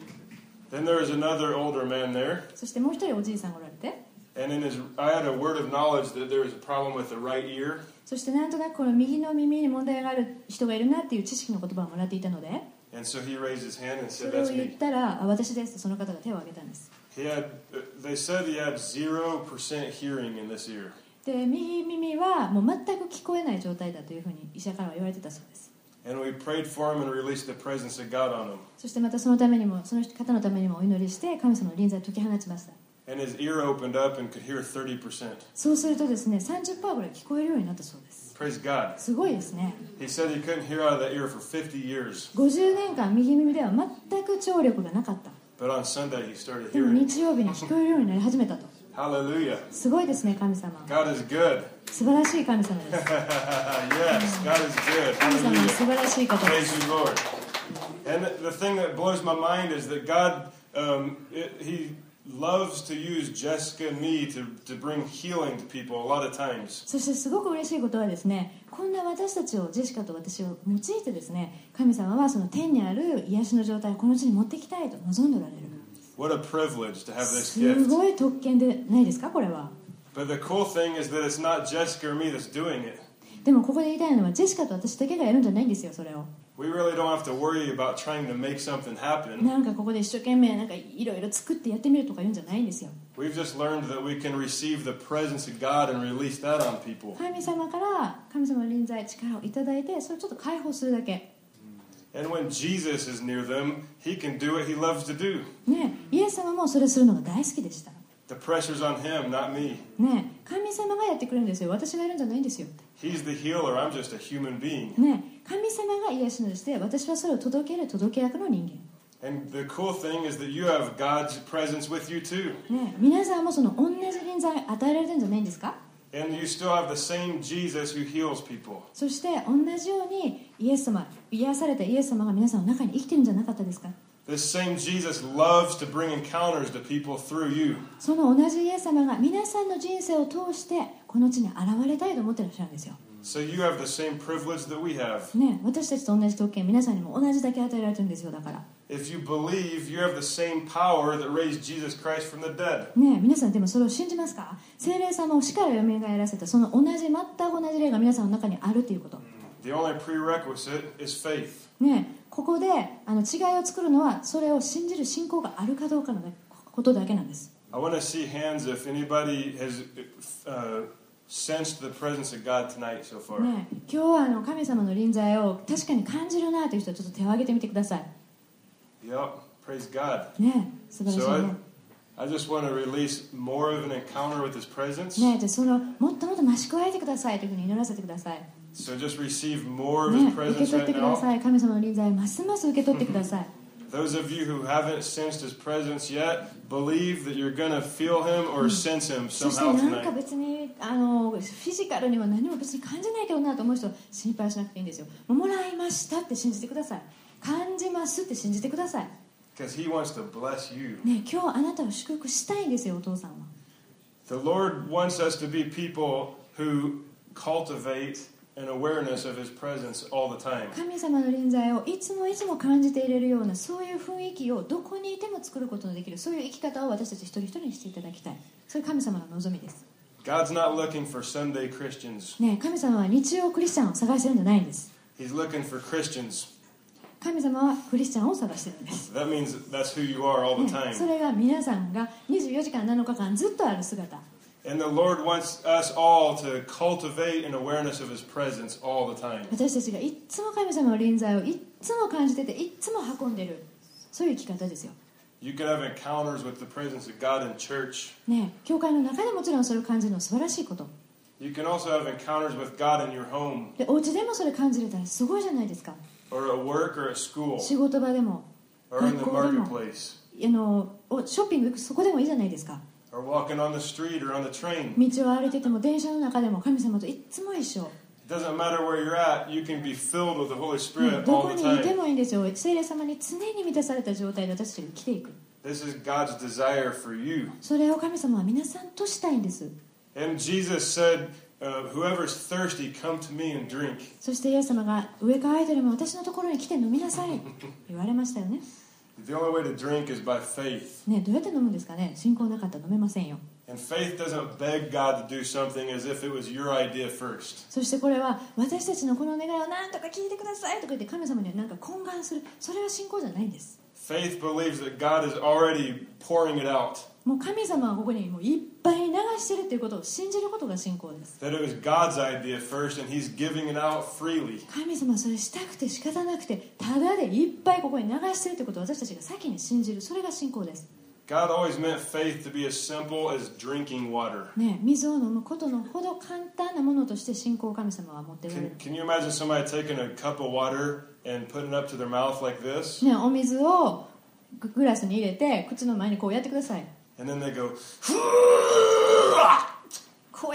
Speaker 2: Then there was another older man there,
Speaker 1: そしてもう一人おじいさんがおられて、
Speaker 2: and in his, I had a word of knowledge that there was a problem with the right ear.
Speaker 1: そしてなんとなくこの右の耳に問題がある人がいるなっていう知識の言葉をもらっていたので、
Speaker 2: And so he raised his hand and
Speaker 1: そ
Speaker 2: said,
Speaker 1: れを
Speaker 2: "That's
Speaker 1: 言っ
Speaker 2: me."
Speaker 1: たら、あ、私ですとその方が手を挙げたんです。
Speaker 2: He had, they said he had zero percent hearing in this ear.
Speaker 1: で右耳はもう全く聞こえない状態だというふうに医者からは言われてたそうです。
Speaker 2: And we prayed for him and released the presence of God on him.
Speaker 1: そしてまたそのためにも、その方のためにもお祈りして神様の臨在を解き放ちました。
Speaker 2: And his ear opened up and could hear thirty percent.
Speaker 1: そうするとですね、さんじゅっパーセント ぐらい聞こえるようになったそうです。
Speaker 2: Praise God.
Speaker 1: すごいですね。
Speaker 2: He said he couldn't hear out of that ear for fifty years.
Speaker 1: ごじゅうねんかん右耳では全く聴力がなかった。
Speaker 2: But on Sunday he started
Speaker 1: でも
Speaker 2: hearing.
Speaker 1: 日曜日に聞こえるようになり始めたと。
Speaker 2: Hallelujah.
Speaker 1: すごいですね、神様。
Speaker 2: God is good.
Speaker 1: 素晴らしい神様です。
Speaker 2: Yes, God is good.
Speaker 1: 神様は
Speaker 2: Hallelujah.
Speaker 1: 素晴らしい方で
Speaker 2: Praise
Speaker 1: す。
Speaker 2: you, Lord. And the thing that blows my mind is that God, um, it, He loves to use Jessica and me to, to bring healing to people a lot of times.
Speaker 1: そしてすごく嬉しいことはですね、こんな私たちを、ジェシカと私を用いてですね、神様はその天にある癒しの状態をこの地に持ってきたいと望んでおられる。
Speaker 2: What a privilege to have this
Speaker 1: す
Speaker 2: gift.
Speaker 1: ごい特権でないですか、これは。
Speaker 2: But the cool thing is that it's not Jessica or me that's doing it.
Speaker 1: でもここで言いたいのは、ジェシカと私だけがやるんじゃないんですよ、それを。
Speaker 2: We really don't have to worry about trying to make something happen.
Speaker 1: なんかここで一生懸命なんかいろいろ作ってやってみるとか言うんじゃないんですよ。
Speaker 2: We've just learned that we can receive the presence of God and release that on people.
Speaker 1: 神様から神様の臨在、力をいただいて、それをちょっと解放するだけ。
Speaker 2: And when Jesus is near them, He can do what He loves to do.
Speaker 1: ね、イエス様もそれするのが大好きでした。
Speaker 2: The pressure's on Him, not me.
Speaker 1: ね、神様がやってくれるんですよ。私がやるんじゃないんですよ。
Speaker 2: He's the healer. I'm just a human being.
Speaker 1: ね、神様が癒し主でして、私はそれを届ける届け役の人間。
Speaker 2: And the cool thing is that you have God's presence with you too.
Speaker 1: ね、皆さんもその同じ臨在与えられてるんじゃないんですか？
Speaker 2: And you still have the same Jesus who heals people.
Speaker 1: そして同じようにイエス様、癒されたイエス様が皆さんの中に生きてるんじゃなかったですか？
Speaker 2: This same Jesus loves to bring encounters to people through you.
Speaker 1: その同じイエス様が皆さんの人生を通してこの地に現れたいと思ってらっしゃるんですよ。
Speaker 2: So you have the same privilege that we have.
Speaker 1: ね、私たちと同じ特権、皆さんにも同じだけ与えられてるんですよ。だから。
Speaker 2: If you believe, you have the same power that raised Jesus Christ from the dead.
Speaker 1: ね、皆さんでもそれを信じますか？聖霊様を死から蘇らせたその同じ全く同じ霊が皆さんの中にあるということ。
Speaker 2: The only prerequisite is faith.
Speaker 1: ね、ここであの違いを作るのはそれを信じる信仰があるかどうかのことだけなんです。
Speaker 2: I want to see hands if anybody has uh, sensed the presence of God tonight so far.
Speaker 1: ね、今日はあの神様の臨在を確かに感じるなという人はちょっと手を挙げてみてください。
Speaker 2: Yep, praise God.
Speaker 1: ね、素晴らしい
Speaker 2: So
Speaker 1: ね。
Speaker 2: I, I just want to release more of an encounter with His presence.
Speaker 1: ね、でそのもっともっと増し加えてくださいというふうに祈らせてください。
Speaker 2: So just receive more of
Speaker 1: ね、
Speaker 2: His
Speaker 1: 受け
Speaker 2: presence
Speaker 1: 取っ
Speaker 2: right
Speaker 1: てくだ
Speaker 2: now.
Speaker 1: さい。神様の臨在をますます受け取ってください。
Speaker 2: Those of you who haven't sensed His presence yet, believe that you're going to feel Him or sense Him
Speaker 1: そして
Speaker 2: somehow
Speaker 1: なんか
Speaker 2: tonight.
Speaker 1: 別にあのフィジカルには何も別に感じないけどなと思う人は心配しなくていいんですよ。もらいましたって信じてください。感じますって信じてください。
Speaker 2: Because He wants to bless you.
Speaker 1: ね、今日あなたを祝福したいんですよ、お父さんは。
Speaker 2: The Lord wants us to be people who cultivate an awareness of His presence all the time.
Speaker 1: 神様の臨在をいつもいつも感じていれるようなそういう雰囲気をどこにいても作ることのできる、そういう生き方を私たち一人一人にしていただきたい。それ神様の望みです。
Speaker 2: God's not looking for Sunday Christians.
Speaker 1: ね、神様は日曜クリスチャンを探してるんじゃないんです。
Speaker 2: He's looking for Christians.
Speaker 1: 神様はクリスチャンを探してるんです。
Speaker 2: That means that's who you are all the
Speaker 1: ね、そ
Speaker 2: time.
Speaker 1: れが皆さんがにじゅうよじかんなのかかんずっとある姿。
Speaker 2: And the Lord wants us all to cultivate an awareness of His presence all the time.
Speaker 1: 私たちがいっつも神様の臨在をいっつも感じてていっつも運んでる、そういう生き方ですよ。
Speaker 2: You can have encounters with the presence of God in church.
Speaker 1: ね、教会の中でもちろんそれを感じるのは素晴らしいこと。
Speaker 2: You can also have encounters with God in your home
Speaker 1: で、お家でもそれ感じれたらすごいじゃないですか。
Speaker 2: or at work or at school
Speaker 1: 仕事場でも
Speaker 2: or in the
Speaker 1: 学校でも
Speaker 2: marketplace
Speaker 1: あのショッピング行くそこでもいいじゃないですか。
Speaker 2: or walking on the street or on the train.
Speaker 1: 道を歩いてても電車の中でも神様といっつも一緒。
Speaker 2: It doesn't matter where you're at, you can be filled with the Holy
Speaker 1: ね、
Speaker 2: Spirit
Speaker 1: ど
Speaker 2: all
Speaker 1: こ
Speaker 2: the
Speaker 1: にいて
Speaker 2: time.
Speaker 1: もいいんですよ。聖霊様に常に満たされた状態で私たちが生きていく。
Speaker 2: This is God's desire for you.
Speaker 1: それを神様は皆さんとしたいんです。
Speaker 2: And Jesus said, uh, whoever's thirsty, come to me and drink.
Speaker 1: そしてイエス様が上から空いてるも私のところに来て飲みなさい言われましたよね。
Speaker 2: The only way to drink is by faith.
Speaker 1: ね、どうやって飲むんですかね。信仰なかったら飲めませんよ。
Speaker 2: And faith doesn't beg God to do something as if it was your idea first.
Speaker 1: そしてこれは私たちのこの願いを何とか聞いてくださいとか言って神様にはなんか懇願する、それは信仰じゃないんです。
Speaker 2: Faith believes that God is already pouring it out.
Speaker 1: もう神様はここにもういっぱい流してるということを信じることが信仰です。
Speaker 2: That it was God's idea first and He's giving it out freely.
Speaker 1: 神様はそれしたくて仕方なくてただでいっぱいここに流してるということを私たちが先に信じる、それが信仰です。
Speaker 2: God always meant faith to be as simple as drinking water.
Speaker 1: ね、水を飲むことのほど簡単なものとして信仰を神様は持っておられ
Speaker 2: Can,
Speaker 1: る。
Speaker 2: can you imagine somebody taking a cup of water and putting it up to their mouth like this?
Speaker 1: ね、お水をググラスに入れて口の前にこうやってください。
Speaker 2: And then they go,
Speaker 1: こうやっ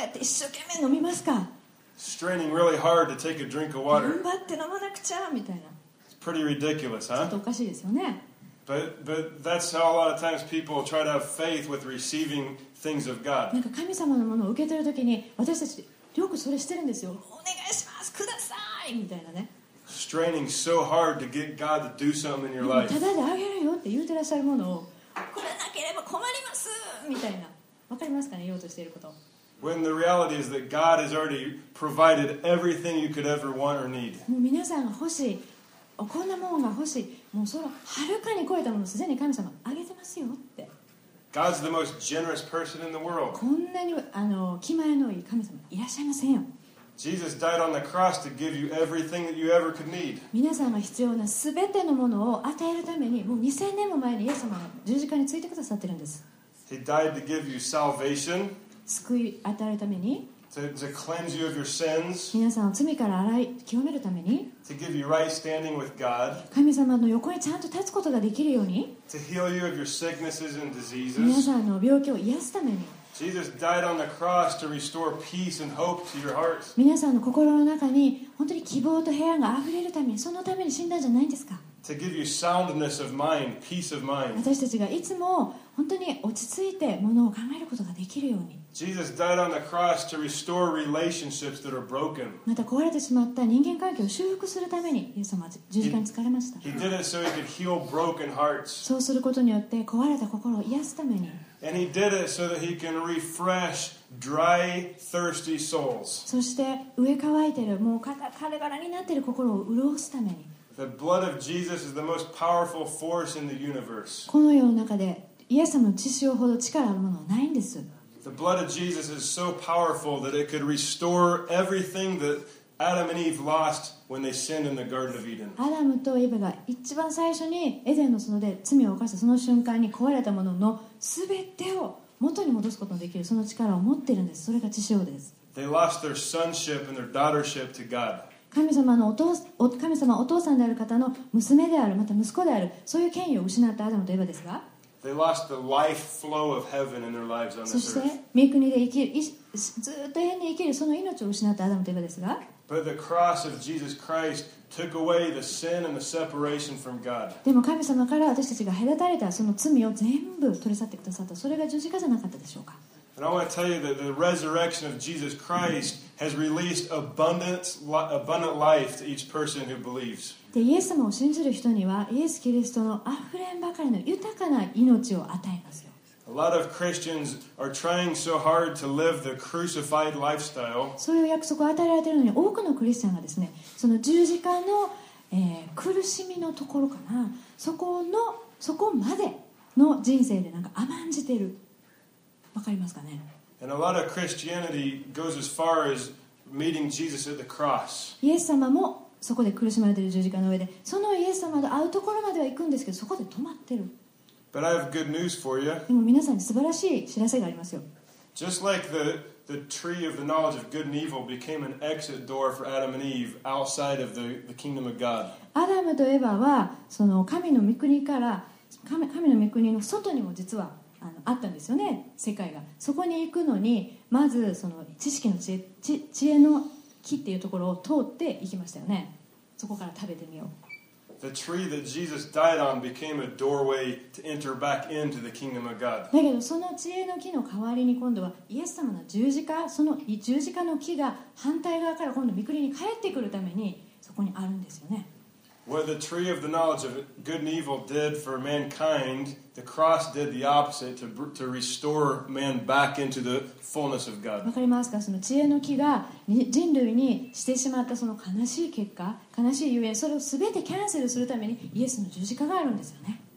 Speaker 1: やって一生懸命飲みますか？
Speaker 2: Straining really hard to take a drink of
Speaker 1: 頑
Speaker 2: water.
Speaker 1: 張って飲まなくちゃみたいな。
Speaker 2: It's pretty ridiculous,
Speaker 1: ちょっと
Speaker 2: huh?
Speaker 1: おかしいですよね。
Speaker 2: But but that's how a lot of times people try to have faith with receiving things of
Speaker 1: な
Speaker 2: God.
Speaker 1: んか神様のものを受け取るときに私たちよくそれしてるんですよ。お願いしますくださいみたいなね。
Speaker 2: Straining so hard to get God to do something in
Speaker 1: で
Speaker 2: your
Speaker 1: も
Speaker 2: life.
Speaker 1: ただであげるよって言うてらっしゃるものをこれなければ困りますみたいな。わかりますかね、言おうとしていること。
Speaker 2: When the reality is that God has already provided everything you could ever want or need.
Speaker 1: もう皆さんが欲しい、こんなものが欲しい、もうそのはるかに超えたものをすでに神様あげてますよって。
Speaker 2: God's the most generous person in the world.
Speaker 1: こんなにあの気前のいい神様いらっしゃいませんよ。
Speaker 2: Jesus died on the cross to give you everything that you ever could need.
Speaker 1: 皆さんが必要なすべてのものを与えるためにもうにせんねんも前にイエス様が十字架についてくださってるんです。
Speaker 2: He died to give you salvation,
Speaker 1: 救い与えるために、
Speaker 2: to, to cleanse you of your sins,
Speaker 1: 皆さんを罪から洗い清めるために、
Speaker 2: to give you right standing with God,
Speaker 1: 神様の横にちゃんと立つことができるように、
Speaker 2: to heal you of your sicknesses and
Speaker 1: 皆
Speaker 2: diseases.
Speaker 1: さんの病気を癒すために、
Speaker 2: Jesus died on the cross to restore peace and hope to your heart.
Speaker 1: 皆さんの心の中に本当に希望と平安があふれるために、そのために死んだんじゃないんですか？
Speaker 2: To give you soundness of mind, peace of mind.
Speaker 1: 私たちがいつも本当に落ち着いてものを考えることができるように、
Speaker 2: Jesus died on the cross to restore relationships that are broken.
Speaker 1: また壊れてしまった人間関係を修復するためにイエス様は十字架につかれました。
Speaker 2: He did it so he could heal broken hearts.
Speaker 1: そうすることによって壊れた心を癒すために、
Speaker 2: And he did it so that he can refresh dry, thirsty souls.
Speaker 1: そして上乾いてるもうカラカラになっている心を潤すために、
Speaker 2: The blood of Jesus is the most powerful force in the universe.
Speaker 1: この世の中でイエス様の血潮ほど力あるものはないんです。
Speaker 2: The blood of Jesus is so powerful that it could restore everything that Adam and Eve lost when they sinned in the Garden of Eden.
Speaker 1: アダムとエヴァが一番最初にエデンの園で罪を犯したその瞬間に壊れたものの全てを元に戻すことのできるその力を持っているんです。それが血潮です。
Speaker 2: They lost their sonship and their daughtership to God.
Speaker 1: 神様のお父お神様お父さんである方の娘である、また息子である、そういう権威を失ったアダムとエヴァですが、
Speaker 2: They lost the life flow of heaven in their lives on
Speaker 1: そ
Speaker 2: this
Speaker 1: して
Speaker 2: earth.
Speaker 1: 御国で生きるいずっと永遠に生きるその命を失ったアダムとエヴァですが、
Speaker 2: But the cross of Jesus Christ took away the sin and the separation from God.
Speaker 1: でも神様から私たちが隔たれたその罪を全部取り去ってくださった。それが十字架じゃなかったでしょうか。
Speaker 2: And I want to tell you that the resurrection of Jesus Christ has released abundant, abundant life to each person who believes.
Speaker 1: でイエス様を信じる人にはイエス・キリストのあふれんばかりの豊かな命を与えますよ。
Speaker 2: A lot of Christians are trying so hard to live the crucified lifestyle.
Speaker 1: そういう約束を与えられているのに多くのクリスチャンがですね、その十字架の、えー苦しみのところかな、そこのそこまでの人生でなんか甘んじてる。わかりますかね。
Speaker 2: And a lot of Christianity goes as far as meeting Jesus at the cross.
Speaker 1: イエス様もそこで苦しまれている十字架の上で、そのイエス様と会うところまでは行くんですけど、そこで止まってる。
Speaker 2: But I have good news for you.
Speaker 1: でも皆さんに素晴らしい知らせがありますよ。
Speaker 2: Just like the, the tree of the knowledge of good and evil became an exit door for Adam and Eve outside of the, the kingdom of God.
Speaker 1: アダムとエバはその神の御国から神神の御国の外にも実はあのあったんですよね、世界が。そこに行くのにまずその知識の知恵、知知恵の木っていうところを通って行きましたよね。そこから食べてみよう。
Speaker 2: The tree that Jesus died on became a doorway to enter back into the kingdom of God.
Speaker 1: だけどその知恵の木の代わりに今度はイエス様の十字架、その十字架の木が反対側から今度御国に帰ってくるためにそこにあるんですよね。
Speaker 2: What the tree of the knowledge of good and evil did for mankind, the cross did the opposite to, to restore man back into the fullness of
Speaker 1: わ
Speaker 2: God.
Speaker 1: かりますか。その知恵の木が人類にしてしまったその悲しい結果、悲しいゆえん、それを全てキャンセルするためにイエスの十字架があるんですよね。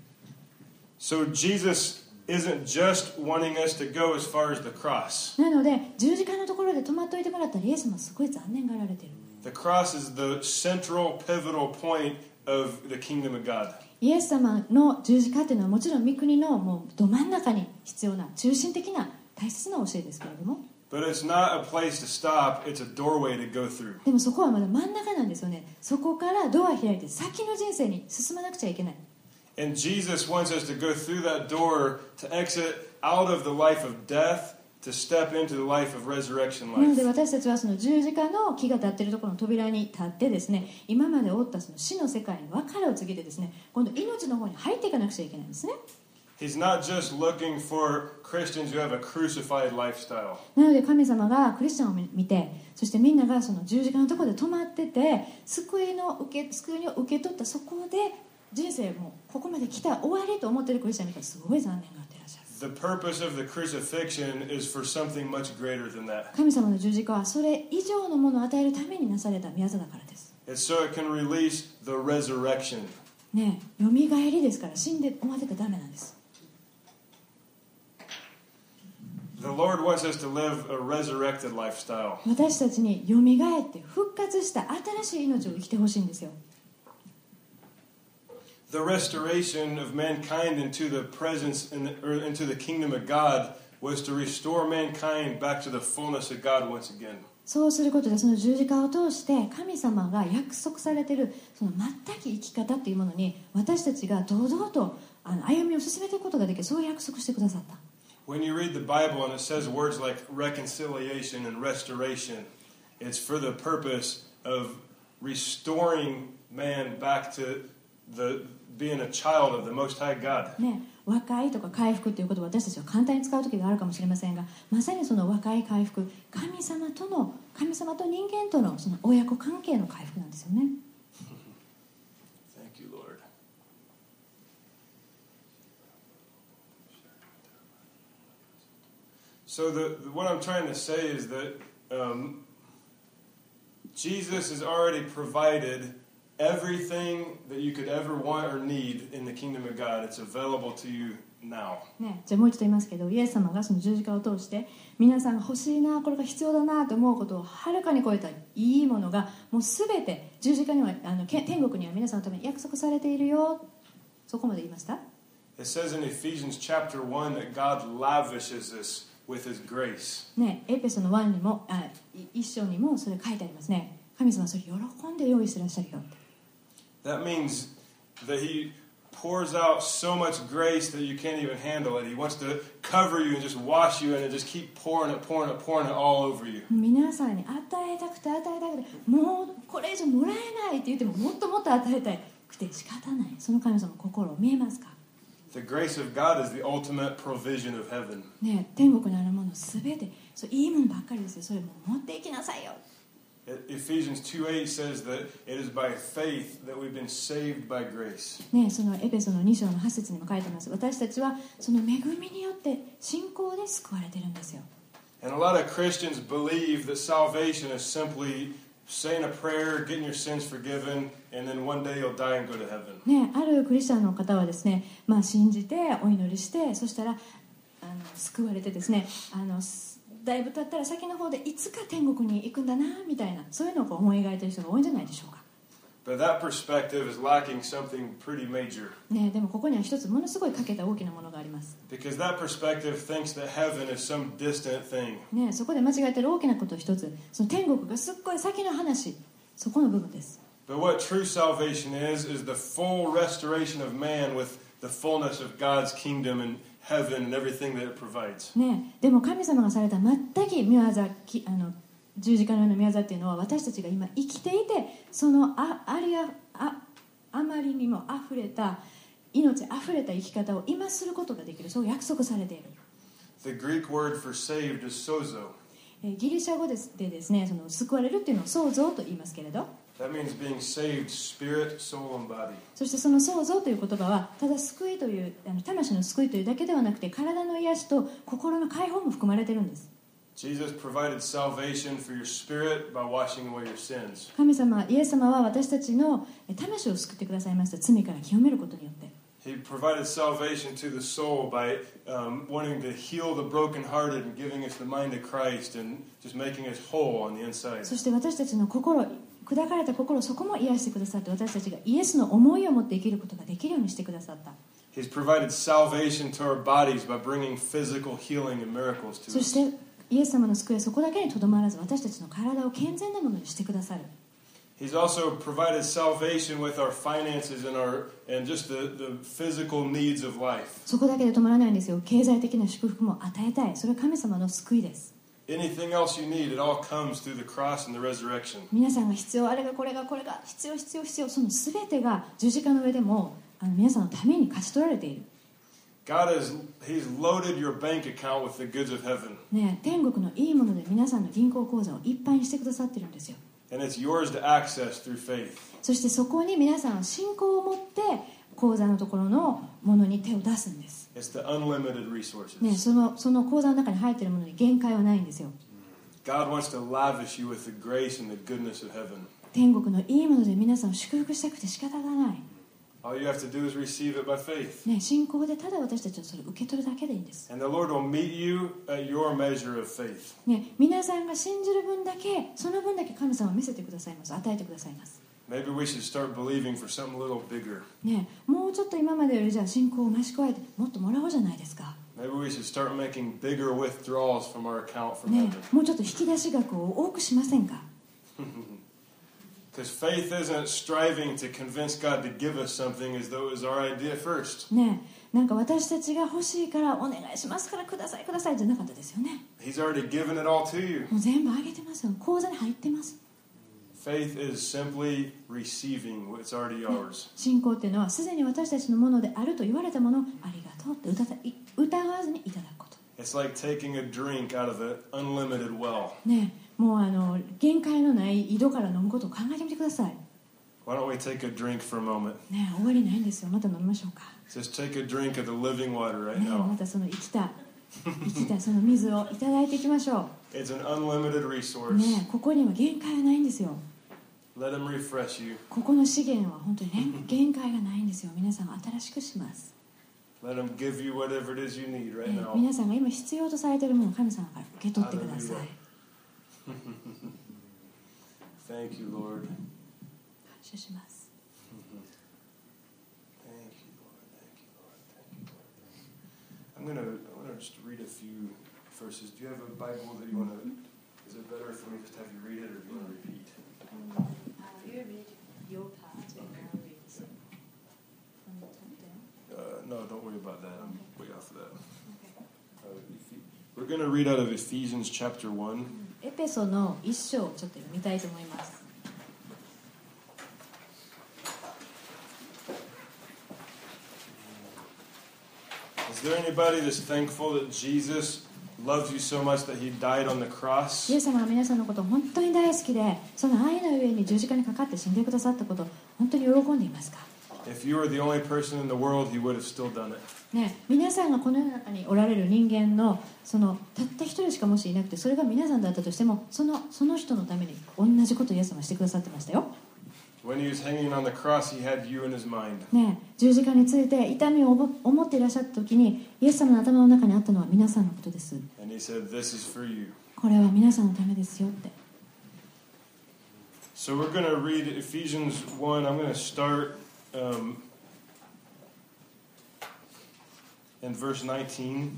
Speaker 2: So Jesus isn't just wanting us to go as far as the cross.
Speaker 1: なので十字架のところで止まっておいてもらったらイエスもすごい残念がられてる。
Speaker 2: The cross is the central, pivotal point of the kingdom of God.
Speaker 1: イエス様の十字架っていうのはもちろん御国のもうど真ん中に必要な中心的な大切な教えですけれども、
Speaker 2: But it's not a place to stop, it's a doorway to go through.
Speaker 1: でもそこはまだ真ん中なんですよね。そこからドア開いて先の人生に進まなくちゃいけない。
Speaker 2: And Jesus wants us to go through that door to exit out of the life of death to step into the life of resurrection
Speaker 1: なので
Speaker 2: life.
Speaker 1: 私たちはその十字架の木が立っているところの扉に立ってですね、今までおったその死の世界に別れを告げてですね、今度命の方に入っていかなくちゃいけないんですね。
Speaker 2: He's not just looking for Christians who have a crucified lifestyle.
Speaker 1: なので神様がクリスチャンを見て、そしてみんながその十字架のところで止まってて、救いの受け救いを受け取ったそこで人生もここまで来た終わりと思っているクリスチャン見たらすごい残念があっていらっしゃる。
Speaker 2: The purpose of the crucifixion is for something much greater than that.
Speaker 1: 神様の十字架はそれ以上のものを与えるためになされた宮座だからです。
Speaker 2: It's so it can release the resurrection.
Speaker 1: ねえ、よみがえりですから死んで終わってたらダメなんです。
Speaker 2: The Lord wants us to live a resurrected lifestyle.
Speaker 1: 私たちによみがえって復活した新しい命を生きてほしいんですよ。
Speaker 2: The restoration of mankind into the presence in the, or into the kingdom of God was to restore mankind back to the fullness of God once again.
Speaker 1: そうすることでその十字架を通して神様が約束されているその全く生き方というものに私たちが堂々とあの歩みを進めていくことができる、そう約束してくださった。
Speaker 2: When you read the Bible and it says words like reconciliation and restoration, it's for the purpose of restoring man back to the being a child of the Most High God.
Speaker 1: ね、和解とか回復ということを私たちは簡単に使う時があるかもしれませんが、まさにその和解回復、神様との神様と人間とのその親子関係の回復なんですよね。
Speaker 2: Thank you, Lord. So the, what I'm trying to say is that um, Jesus has already provided everything that you could ever want or need in the kingdom of God. It's available to you now.
Speaker 1: ね、じゃあもう一度言いますけど、イエス様がその十字架を通して皆さんが欲しいな、これが必要だなと思うことをはるかに超えたいいものがもうすべて十字架にはあの天国には皆さんのために約束されているよ。そこまで言いました。
Speaker 2: It says in Ephesians chapter one that God lavishes us with His grace.
Speaker 1: ね、エペソのいちにもあ一章にもそれ書いてありますね。神様はそれ喜んで用意してらっしゃるよ。
Speaker 2: That means that He pours out so much grace that you can't even handle it. He wants to cover you and just wash you and just keep pouring it, pouring it, pouring it all over you.
Speaker 1: 皆さんに与えたくて与えたくてもうこれ以上もらえないって言ってももっともっと与えたくて仕方ない、その神様の心を見えますか？
Speaker 2: The grace of God is the ultimate provision of heaven.
Speaker 1: ね、天国にあるものすべてそういいものばっかりですよ。それも持っていきなさいよ。
Speaker 2: Ephesians two eight says that it is by faith that we've been saved by grace.
Speaker 1: ね、そのエペソのに章のはち節にも書いてます。私たちはその恵みによって信仰で救われてるんですよ。
Speaker 2: And a lot of Christians believe that salvation is simply saying a prayer, getting your sins forgiven, and then one day you'll die and go to heaven.
Speaker 1: ね、あるクリスチャンの方はですね、まあ、信じてお祈りして、そしたらあの救われてですね、あのだいぶ経ったら先の方でいつか天国に行くんだなみたいな、そういうのをこう思い描いている人が多いんじゃないでしょうか。
Speaker 2: But that perspective is lacking something pretty major.
Speaker 1: ね、でもここには一つものすごい欠けた大きなものがあります。
Speaker 2: Because that perspective thinks that heaven is some distant thing.
Speaker 1: ね、そこで間違えている大きなことを一つ、その天国がすっごい先の話、そこの部分です。
Speaker 2: But what true salvation is, is the full restoration of man with the fullness of God's kingdom and heaven and everything that it provides.
Speaker 1: ね、でも神様がされた全く御業、あの十字架のような御業っていうのは私たちが今生きていて、その あ, あ, り あ, あ, あまりにもあふれた命あふれた生き方を今することができる、そう約束されている。
Speaker 2: The Greek word for saved is sozo.
Speaker 1: ギリシャ語でですね、その救われるっていうのを創造と言いますけれど、
Speaker 2: That means being saved spirit, soul, and body.
Speaker 1: そしてその創造という言葉はただ救いというあの魂の救いというだけではなくて、体の癒しと心の解放も含まれているんです。
Speaker 2: Jesus provided salvation for your spirit by washing away your sins.
Speaker 1: 神様、イエス様は私たちの魂を救ってくださいました。罪から清めることによって。
Speaker 2: He provided salvation to the soul by um, wanting to heal the brokenhearted and giving us the mind of Christ and just making us whole on the inside.
Speaker 1: そして私たちの心、砕かれた心、そこも癒してくださって、私たちがイエスの思いを持って生きることができるようにしてくださった。
Speaker 2: He's provided salvation to our bodies by bringing physical healing and miracles to
Speaker 1: そ
Speaker 2: us.
Speaker 1: してイエス様の救いはそこだけにとどまらず、私たちの体を健全なものにしてくださる。
Speaker 2: He's also provided salvation with our finances and our and just the, the physical needs of life.
Speaker 1: そこだけで止まらないんですよ。経済的な祝福も与えたい。それは神様の救いです。
Speaker 2: Anything else you need, it all comes through the cross and the resurrection.
Speaker 1: 皆さんが必要、あれがこれがこれが必要必要必要、その全てが十字架の上でもあの皆さんのために勝ち取られている。
Speaker 2: God has He's loaded your bank account with the goods of heaven.
Speaker 1: ね、天国のいいもので皆さんの銀行口座をいっぱいにしてくださってるんですよ。
Speaker 2: And it's yours to access through faith.
Speaker 1: そしてそこに皆さんは信仰を持って口座のところのものに手を出すんです。
Speaker 2: It's the unlimited resources.
Speaker 1: ね、そのその口座の中に入っているものに限界はないんですよ。
Speaker 2: God wants to lavish you with the grace and the goodness of heaven.
Speaker 1: 天国のいいもので皆さんを祝福したくて仕方がない。
Speaker 2: All you have to do is receive it by faith.
Speaker 1: ね、信仰でただ私たちはそれを受け取るだけでいいんです。
Speaker 2: And the Lord will meet you at your measure of faith.
Speaker 1: ね、皆さんが信じる分だけ、その分だけ神様を見せてくださいます。与えてくださいます。
Speaker 2: Maybe we should start believing for something a little bigger.
Speaker 1: ね、もうちょっと今までよりじゃあ信仰を増し加えてもっともらおうじゃないですか。
Speaker 2: Maybe we should start making bigger withdrawals from our account from
Speaker 1: ね、
Speaker 2: heaven.
Speaker 1: もうちょっと引き出し額を多くしませんか。
Speaker 2: Because faith isn't striving to convince God to give us something as though it was our idea first.
Speaker 1: ね、なんか私たちが欲しいからお願いしますからくださいくださいじゃなかったですよね。
Speaker 2: He's already given it all to you.
Speaker 1: もう全部あげてますよ。口座に入ってます。
Speaker 2: Faith is simply receiving what's already yours.
Speaker 1: 信仰っていうのはすでに私たちのものであると言われたものをありがとうって疑疑わずにいただくこと。
Speaker 2: It's like taking a drink out of an unlimited well.
Speaker 1: ね、もうあの限界のない井戸から飲むことを考えてみてください。
Speaker 2: Why don't we take a drink for a moment?
Speaker 1: ね、終わりないんですよ。また飲みましょうか。
Speaker 2: Just take a drink of the living water right
Speaker 1: ね、ま
Speaker 2: now.
Speaker 1: たその生きた生きたその水をいただいていきましょ
Speaker 2: It's an unlimited
Speaker 1: う。
Speaker 2: resource.
Speaker 1: ね、ここには限界はないんですよ。
Speaker 2: Let him refresh you.
Speaker 1: ここの資源は本当にね限界がないんですよ。皆さん新しくします。
Speaker 2: Let him give you whatever it is you need right
Speaker 1: ね、
Speaker 2: now.
Speaker 1: 皆さんが今必要とされているものを神様から受け取ってください。
Speaker 2: Thank you, Lord.
Speaker 1: 感謝します。
Speaker 2: Thank you, Lord. Thank you, Lord. Thank you, Lord. I'm gonna, I'm gonna just read a few verses. Do you have a Bible that you want to? Is it better if we just have you read it, or do you want to repeat?
Speaker 1: Uh, you read your part and I'll read some from the top down.
Speaker 2: Uh, no, don't worry about that. I'm way off of that.
Speaker 1: Okay.
Speaker 2: Uh, Ephe- We're going to read out of Ephesians chapter one.
Speaker 1: エペソの一章をちょっと読みたいと思います。
Speaker 2: Is there anybody that's thankful that Jesus loves you so much that he died on the cross?
Speaker 1: イエス様は皆さんのことを本当に大好きで、その愛の上に十字架にかかって死んでくださったことを本当に喜んでいますか？
Speaker 2: If you were the only person in the world, he would have still done it.
Speaker 1: ね、皆さんがこの世の中におられる人間のそのたった一人しかもしいなくて、それが皆さんだったとしても、そのその人のために同じことをイエス様はしてくださってましたよ。
Speaker 2: When he was hanging on the cross, he had you in his mind.
Speaker 1: ね、十字架について痛みを思っていらっしゃった時に、イエス様の頭の中にあったのは皆さんのことです。
Speaker 2: And he said, "This is for you."
Speaker 1: これは皆さんのためですよって。
Speaker 2: So we're going to read Ephesians one. I'm going to start um, in verse nineteen.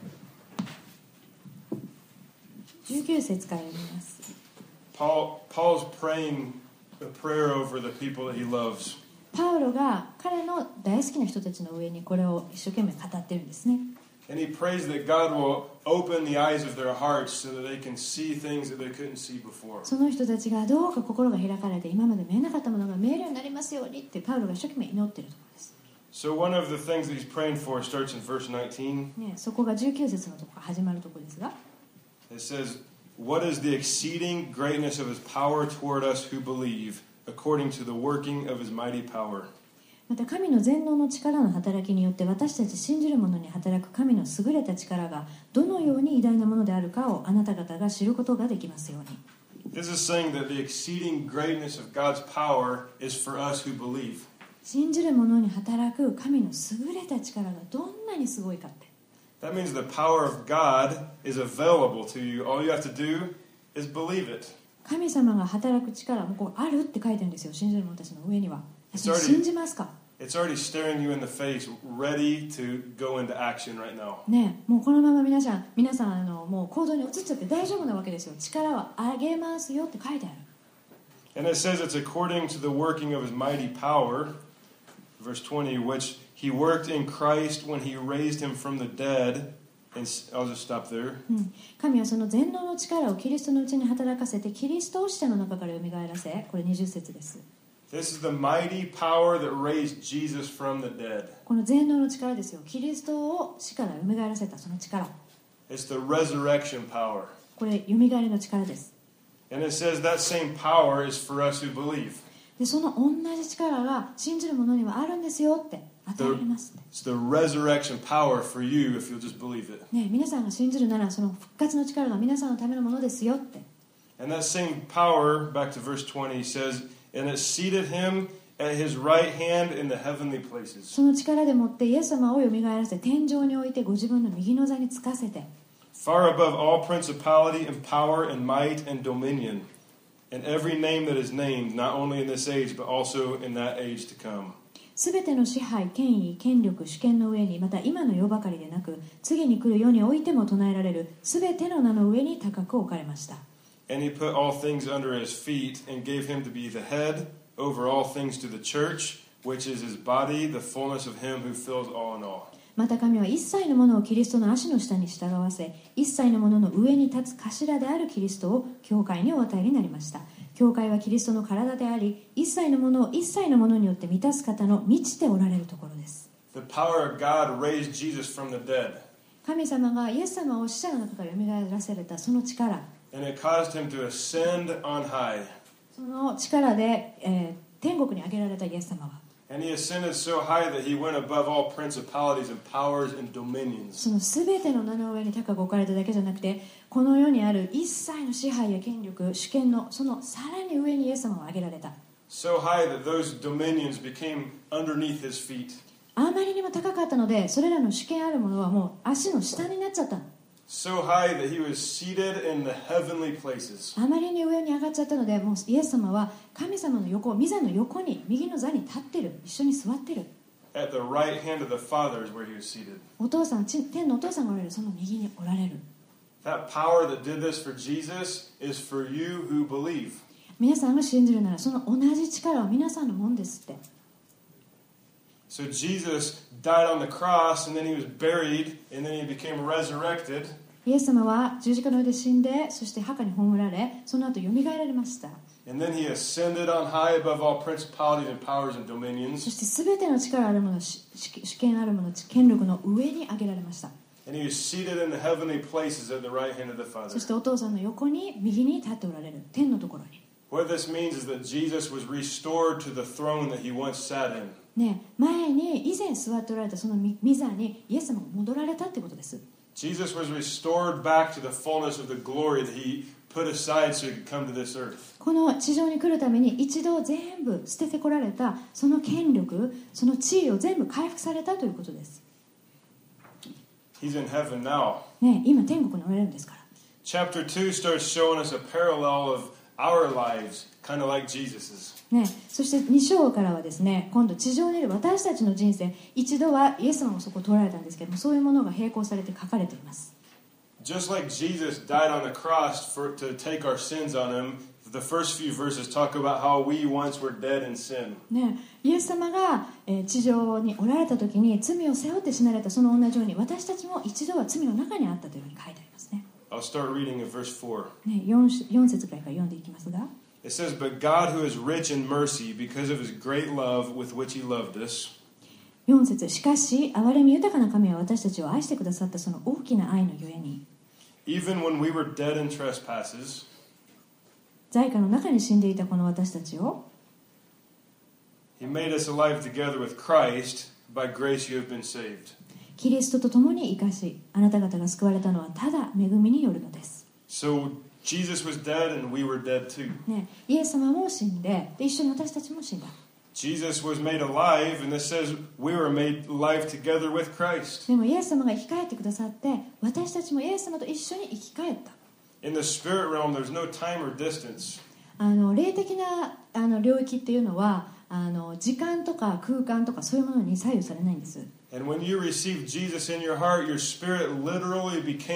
Speaker 1: じゅうきゅう節から読みます。
Speaker 2: Paul, Paul's praying a prayer over the people that he loves.
Speaker 1: パウロが彼の大好きな人たちの上にこれを一生懸命語ってるんですね。
Speaker 2: And he prays that God will open the eyes of their hearts so that they can see things that they couldn't see before.
Speaker 1: その人たちがどうか心が開かれて今まで見えなかったものが見えるようになりますようにってパウロが一生懸命祈っているところです。
Speaker 2: So one of the things that he's praying for starts in verse nineteen.
Speaker 1: ね、そこがじゅうきゅう節のところ始まるところですが、
Speaker 2: It says, "What is the exceeding greatness of his power toward us who believe, according to the working of his mighty power."
Speaker 1: また神の全能の力の働きによって私たち信じる者に働く神の優れた力がどのように偉大なものであるかをあなた方が知ることができますように。
Speaker 2: This is saying that the exceeding greatness of God's power is for us who believe.
Speaker 1: 信じる者に働く神の優れた力がどんなにすごいかって。
Speaker 2: That means the power of God is available to you. All you have to do is believe it.
Speaker 1: 神様が働く力もこうあるって書いてるんですよ。信じる者たちの上には。
Speaker 2: It's already-
Speaker 1: 信じますか？
Speaker 2: It's already staring you in the face, ready to go into action right now.
Speaker 1: ね、もうこのまま皆さん皆さんあのもう行動に移っちゃって大丈夫なわけですよ。力はあげますよって書いてある。
Speaker 2: And it says it's according to the working of his mighty power, verse twenty, which he worked in Christ when he raised him from the dead. And I'll just stop there.
Speaker 1: うん、神はその全能の力をキリストのうちに働かせてキリストを死者の中からよみがえらせ、これにじゅう節です。
Speaker 2: This is the mighty power that raised Jesus from the dead.
Speaker 1: この全能の力ですよ。キリストを死からよみがえらせたその力。
Speaker 2: It's the resurrection power.
Speaker 1: これよみがえりの力です。
Speaker 2: And it says that same power is for us who believe.
Speaker 1: でその同じ力が信じる者にはあるんですよって与えられます、ね。
Speaker 2: It's the resurrection power for you if you'll just believe it.
Speaker 1: ね、皆さんが信じるならその復活の力が皆さんのためのものですよって。
Speaker 2: And that same power, back to verse twenty, says, and it seated him at his right hand in the heavenly places.
Speaker 1: その力でもってイエス様をよみがえらせ天上に置いてご自分の右の座につかせて。
Speaker 2: Far above all principality and power and might and dominion, and every name that is named, not only in this age, but also in that age to come.
Speaker 1: すべての支配、権威、権力、主権の上に、また今の世ばかりでなく、次に来る世においても唱えられるすべての名の上に高く置かれました。
Speaker 2: And he put all things under his feet and gave him to be the head over all things to the church, which is his body, the fullness of him who fills all in all.
Speaker 1: また神は一切のものをキリストの足の下に従わせ、一切のものの上に立つ頭であるキリストを教会にお与えになりました。教会はキリストの体であり、一切のものを一切のものによって満たす方の満ちておられるところです。
Speaker 2: The power of God raised Jesus from the dead.
Speaker 1: 神様がイエス様を死者の中からよみがえらせたその力、
Speaker 2: And it caused him to ascend on high.
Speaker 1: その力で、えー、天国に上げられたイエス様は、
Speaker 2: And he ascended so high that he went above all principalities and powers and dominions.
Speaker 1: そのすべての名の上に高く置かれただけじゃなくて、この世にある一切の支配や権力、主権のそのさらに上にイエス様を上げられた。
Speaker 2: So high that those dominions became underneath his feet.
Speaker 1: あまりにも高かったので、それらの主権あるものはもう足の下になっちゃったの。
Speaker 2: So high that he was seated in the heavenly places.
Speaker 1: あまりに上に上がっちゃったので、もうイエス様は神様の横、御座の横に、右の座に立ってる、一緒に座ってる。
Speaker 2: At the right hand of the Father is where he was seated.
Speaker 1: お父さん、天のお父さんがおられる、その右におられる。
Speaker 2: That power that did this for Jesus is for you who believe.
Speaker 1: 皆さんが信じるなら、その同じ力は皆さんのもんですって。
Speaker 2: So Jesus died on the cross, and then he was buried, and then he became resurrected.
Speaker 1: イエス様は十字架の上で死んで、そして墓に葬られ、その後よみがえられました。
Speaker 2: And then he ascended on high above all principalities and powers and dominions.
Speaker 1: そしてすべての力あるもの、主権あるもの、権力の上に上げられました。
Speaker 2: And he was seated in the heavenly places at the right hand of the
Speaker 1: そ
Speaker 2: Father.
Speaker 1: してお父さんの横に、右に立っておられる、天のところに。
Speaker 2: What this means is that Jesus was restored to the throne that he once sat in.
Speaker 1: ね、前に以前座っておられたその御座にイエス様が戻られたってことです。
Speaker 2: Jesus was restored back to the fullness of the glory that he put aside so he could come to this earth.
Speaker 1: この地上に来るために一度全部捨ててこられたその権力、その地位を全部回復されたということです。
Speaker 2: He's in heaven now.
Speaker 1: ね、今天国におられるんですから。
Speaker 2: Chapter two starts showing us a parallel of our lives, kind of like Jesus's.
Speaker 1: ね、そしてに章からはですね、今度地上にいる私たちの人生、一度はイエス様もそこを通られたんですけども、そういうものが並行されて書かれています。
Speaker 2: Just like Jesus died on the cross for, to take our sins on him, the first few verses talk about how we once were dead in sin.
Speaker 1: ね、イエス様が、えー、地上におられた時に罪を背負って死なれたその同じように、私たちも一度は罪の中にあったというふうに書いてありますね。
Speaker 2: I'll start reading in verse four.
Speaker 1: ね、4, 4節くらいから読んでいきますが。
Speaker 2: It says, But God who is rich in mercy, because of his great love with which he loved us.
Speaker 1: よん節、しかし憐れみ豊かな神は私たちを愛してくださったその大きな愛のゆえに、
Speaker 2: Even when we were dead in trespasses,
Speaker 1: 罪禍の中に死んでいたこの私たちを
Speaker 2: he made us alive together with Christ. By grace you have been saved.
Speaker 1: キリストと共に生かし、あなた方が救われたのはただ恵みによるのです。
Speaker 2: So Jesus was dead and we were dead too.
Speaker 1: ね、イエス様も死んで、で一緒に私たちも死んだ。
Speaker 2: Jesus was made alive, and this says we were made alive together with Christ.
Speaker 1: でもイエス様が生き返ってくださって、私たちもイエス様と一緒に生き返った。
Speaker 2: In the spirit realm, there's no time or distance.
Speaker 1: あの霊的なあの領域っていうのは、あの時間とか空間とかそういうものに左右されないんです。
Speaker 2: And when you received Jesus in your heart, your spirit literally became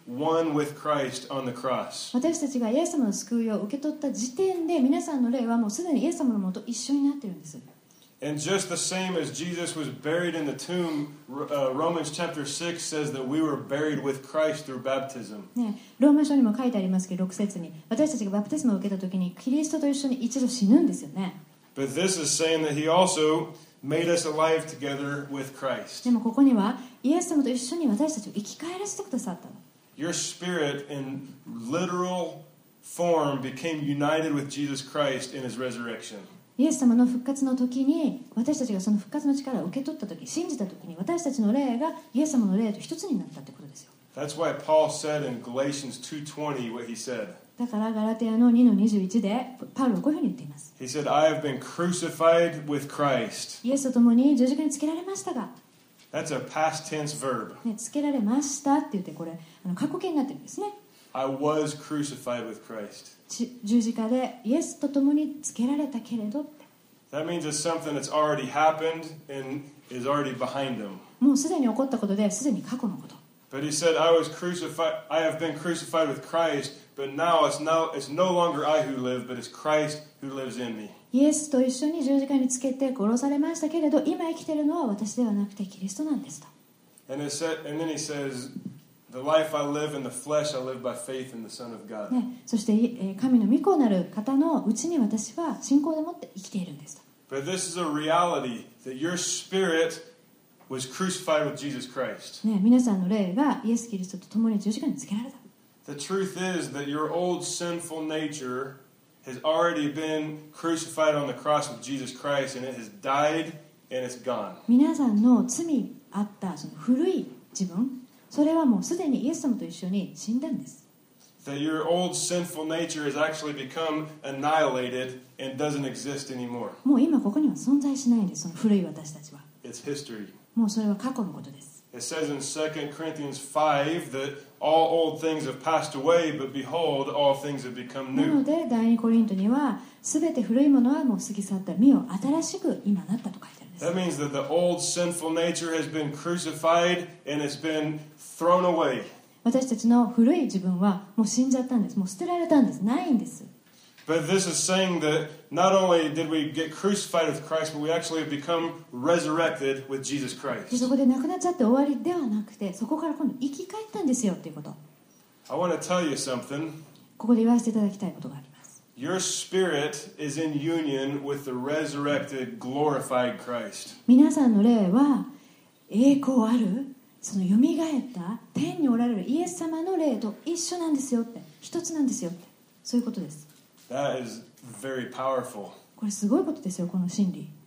Speaker 2: one with Christ on the cross.
Speaker 1: 私たちがイエス様の救いを受け取った時点で皆さんの霊はもうすでにイエス様のもと一緒になっているんです。
Speaker 2: And just the same as Jesus was buried in the tomb, uh, Romans chapter six says that we were buried with Christ through baptism.
Speaker 1: ね、ローマ書にも書いてありますけどろく節に私たちがバプテスマを受けた時にキリストと一緒に一度死ぬんですよね。
Speaker 2: But this is saying that he also made us alive together with Christ.
Speaker 1: でもここにはイエス様と一緒に私たちを生き返らせてくださったの。
Speaker 2: Your spirit in literal form became united with Jesus Christ in his resurrection.
Speaker 1: イエス様の復活の時に私たちがその復活の力を受け取った時、信じた時に私たちの霊がイエス様の霊と一つになったってことですよ。
Speaker 2: That's why Paul said in Galatians two twenty what he said.
Speaker 1: だからガラテヤのにのにじゅういちでパウロはこういうふうに言っています。
Speaker 2: He said, I have been crucified with Christ.
Speaker 1: イエスと共に十字架につけられましたが、
Speaker 2: That's a past tense verb.
Speaker 1: ね、つけられましたって言ってこれあの過去形になってるんですね。
Speaker 2: I was crucified with Christ.
Speaker 1: 十字架でイエスと共につけられたけれどって。
Speaker 2: That means it's something that's already happened and is already behind him.
Speaker 1: もうすでに起こったことですでに過去のこと。
Speaker 2: But he said, I was crucified, I have been crucified with Christ, but now it's, now it's no longer I who live, but it's Christ who lives in me.
Speaker 1: イエスと一緒に十字架につけて殺されましたけれど、今生きているのは私ではなくてキリストなんですと。
Speaker 2: And, it said, and then he says, the life I live in the flesh, I live by faith in the Son of God.
Speaker 1: ね、そしてえー神の御子なる方のうちに私は信仰でもって生きているんですと。
Speaker 2: But this is a reality that your spirit was crucified with Jesus Christ.
Speaker 1: ね、皆さんの霊がイエス・キリストと共に十字架につけられた。
Speaker 2: The truth is that your old sinful nature has already been crucified on the cross with Jesus Christ, and it has died and it's gone.
Speaker 1: 皆さんの罪あったその古い自分、それはもうすでにイエス様と一緒に死んだんです。
Speaker 2: That your old sinful nature has actually become annihilated and doesn't exist anymore.
Speaker 1: もう今ここには存在しないんです、その古い私たちは。
Speaker 2: It's history.
Speaker 1: もうそれは過去のことです。
Speaker 2: It says in Second Corinthians five that all old things have passed away, but behold, all things have become
Speaker 1: なの
Speaker 2: new.
Speaker 1: で第二コリントにはすべて古いものはもう過ぎ去った、見よ新しく今なったと書いてあるんです。
Speaker 2: That means that the old sinful nature has been crucified and it's been thrown away.
Speaker 1: 私たちの古い自分はもう死んじゃったんです。もう捨てられたんです。ないんです。
Speaker 2: But this is saying that not only did we get crucified with Christ, but we actually have become resurrected with Jesus
Speaker 1: で
Speaker 2: Christ.
Speaker 1: そこで亡くなっちゃって終わりではなくて、そこから今度生き返ったんですよっていうこと。
Speaker 2: I want to tell you something.
Speaker 1: ここで言わせていただきたいことがあります。
Speaker 2: Your spirit is in union with the resurrected, glorified Christ.
Speaker 1: 皆さんの霊は栄光あるそのよみがえった天におられるイエス様の霊と一緒なんですよって、一つなんですよって、そういうことです。
Speaker 2: That is very powerful.
Speaker 1: これすごいことですよ、この真理。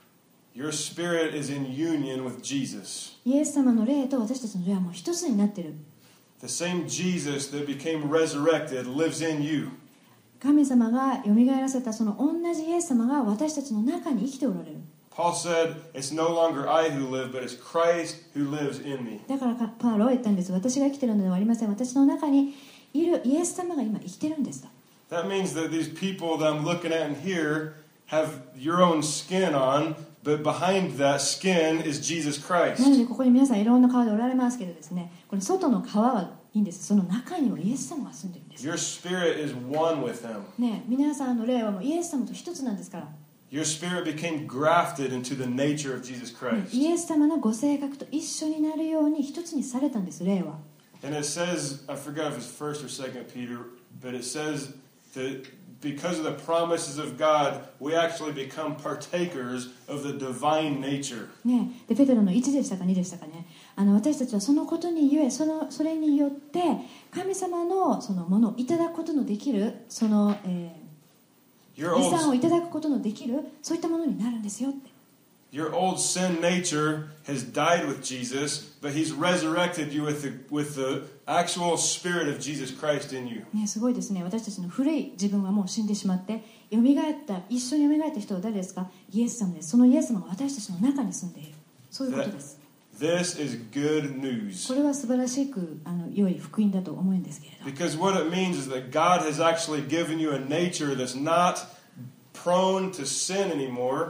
Speaker 2: Your spirit is in union with Jesus.
Speaker 1: イエス様の霊と私たちの霊はもう一つになっている。
Speaker 2: The same Jesus that became resurrected lives in you.
Speaker 1: 神様がよみがえらせたその同じイエス様が私たちの中に生きておられる。
Speaker 2: Paul said, it's no longer I who live, but it's Christ who lives in me.
Speaker 1: だからパウロは言ったんです。私が生きているのではありません。私の中にいるイエス様が今生きているんですと。
Speaker 2: That means that these people that I'm looking at and here have your own skin on, but behind that skin is Jesus
Speaker 1: なの
Speaker 2: Christ.
Speaker 1: でここに皆さんいろんな顔でおられますけどですね、これ外の皮はいいんです。その中にはイエス様が住んでるんです。
Speaker 2: Your spirit is one with him.
Speaker 1: ね、皆さんの霊はもうイエス様と一つなんですから。
Speaker 2: Your spirit became grafted into the nature of Jesus
Speaker 1: ね
Speaker 2: Christ.
Speaker 1: イエス様のご性格と一緒になるように一つにされたんです、霊は。
Speaker 2: And it says, I forgot if it's first or second Peter, but it says that because of the promises of God, we actually become partakers of the divine nature.
Speaker 1: ね、でペテロのいちでしたかにでしたかね、あの私たちはそのことにゆえ、そのそれによって神様のそのものをいただくことのできる、その、えー、
Speaker 2: Your
Speaker 1: 遺産を
Speaker 2: old,
Speaker 1: いただくことのできる、そういったものになるんですよって。
Speaker 2: your old sin nature has died with Jesus, but he's resurrected you with the, with the actual spirit of Jesus Christ in you.
Speaker 1: ね、すごいですね。私たちの古い自分はもう死んでしまってよみがえった、一緒によみがえった人は誰ですか？イエス様です。そのイエス様が私たちの中に住んでいる、そういうことです。
Speaker 2: This is good news.
Speaker 1: これは素晴らしくあの良い福音だと思うんですけれど、
Speaker 2: Because what it means is that God has actually given you a nature that's not prone to sin anymore.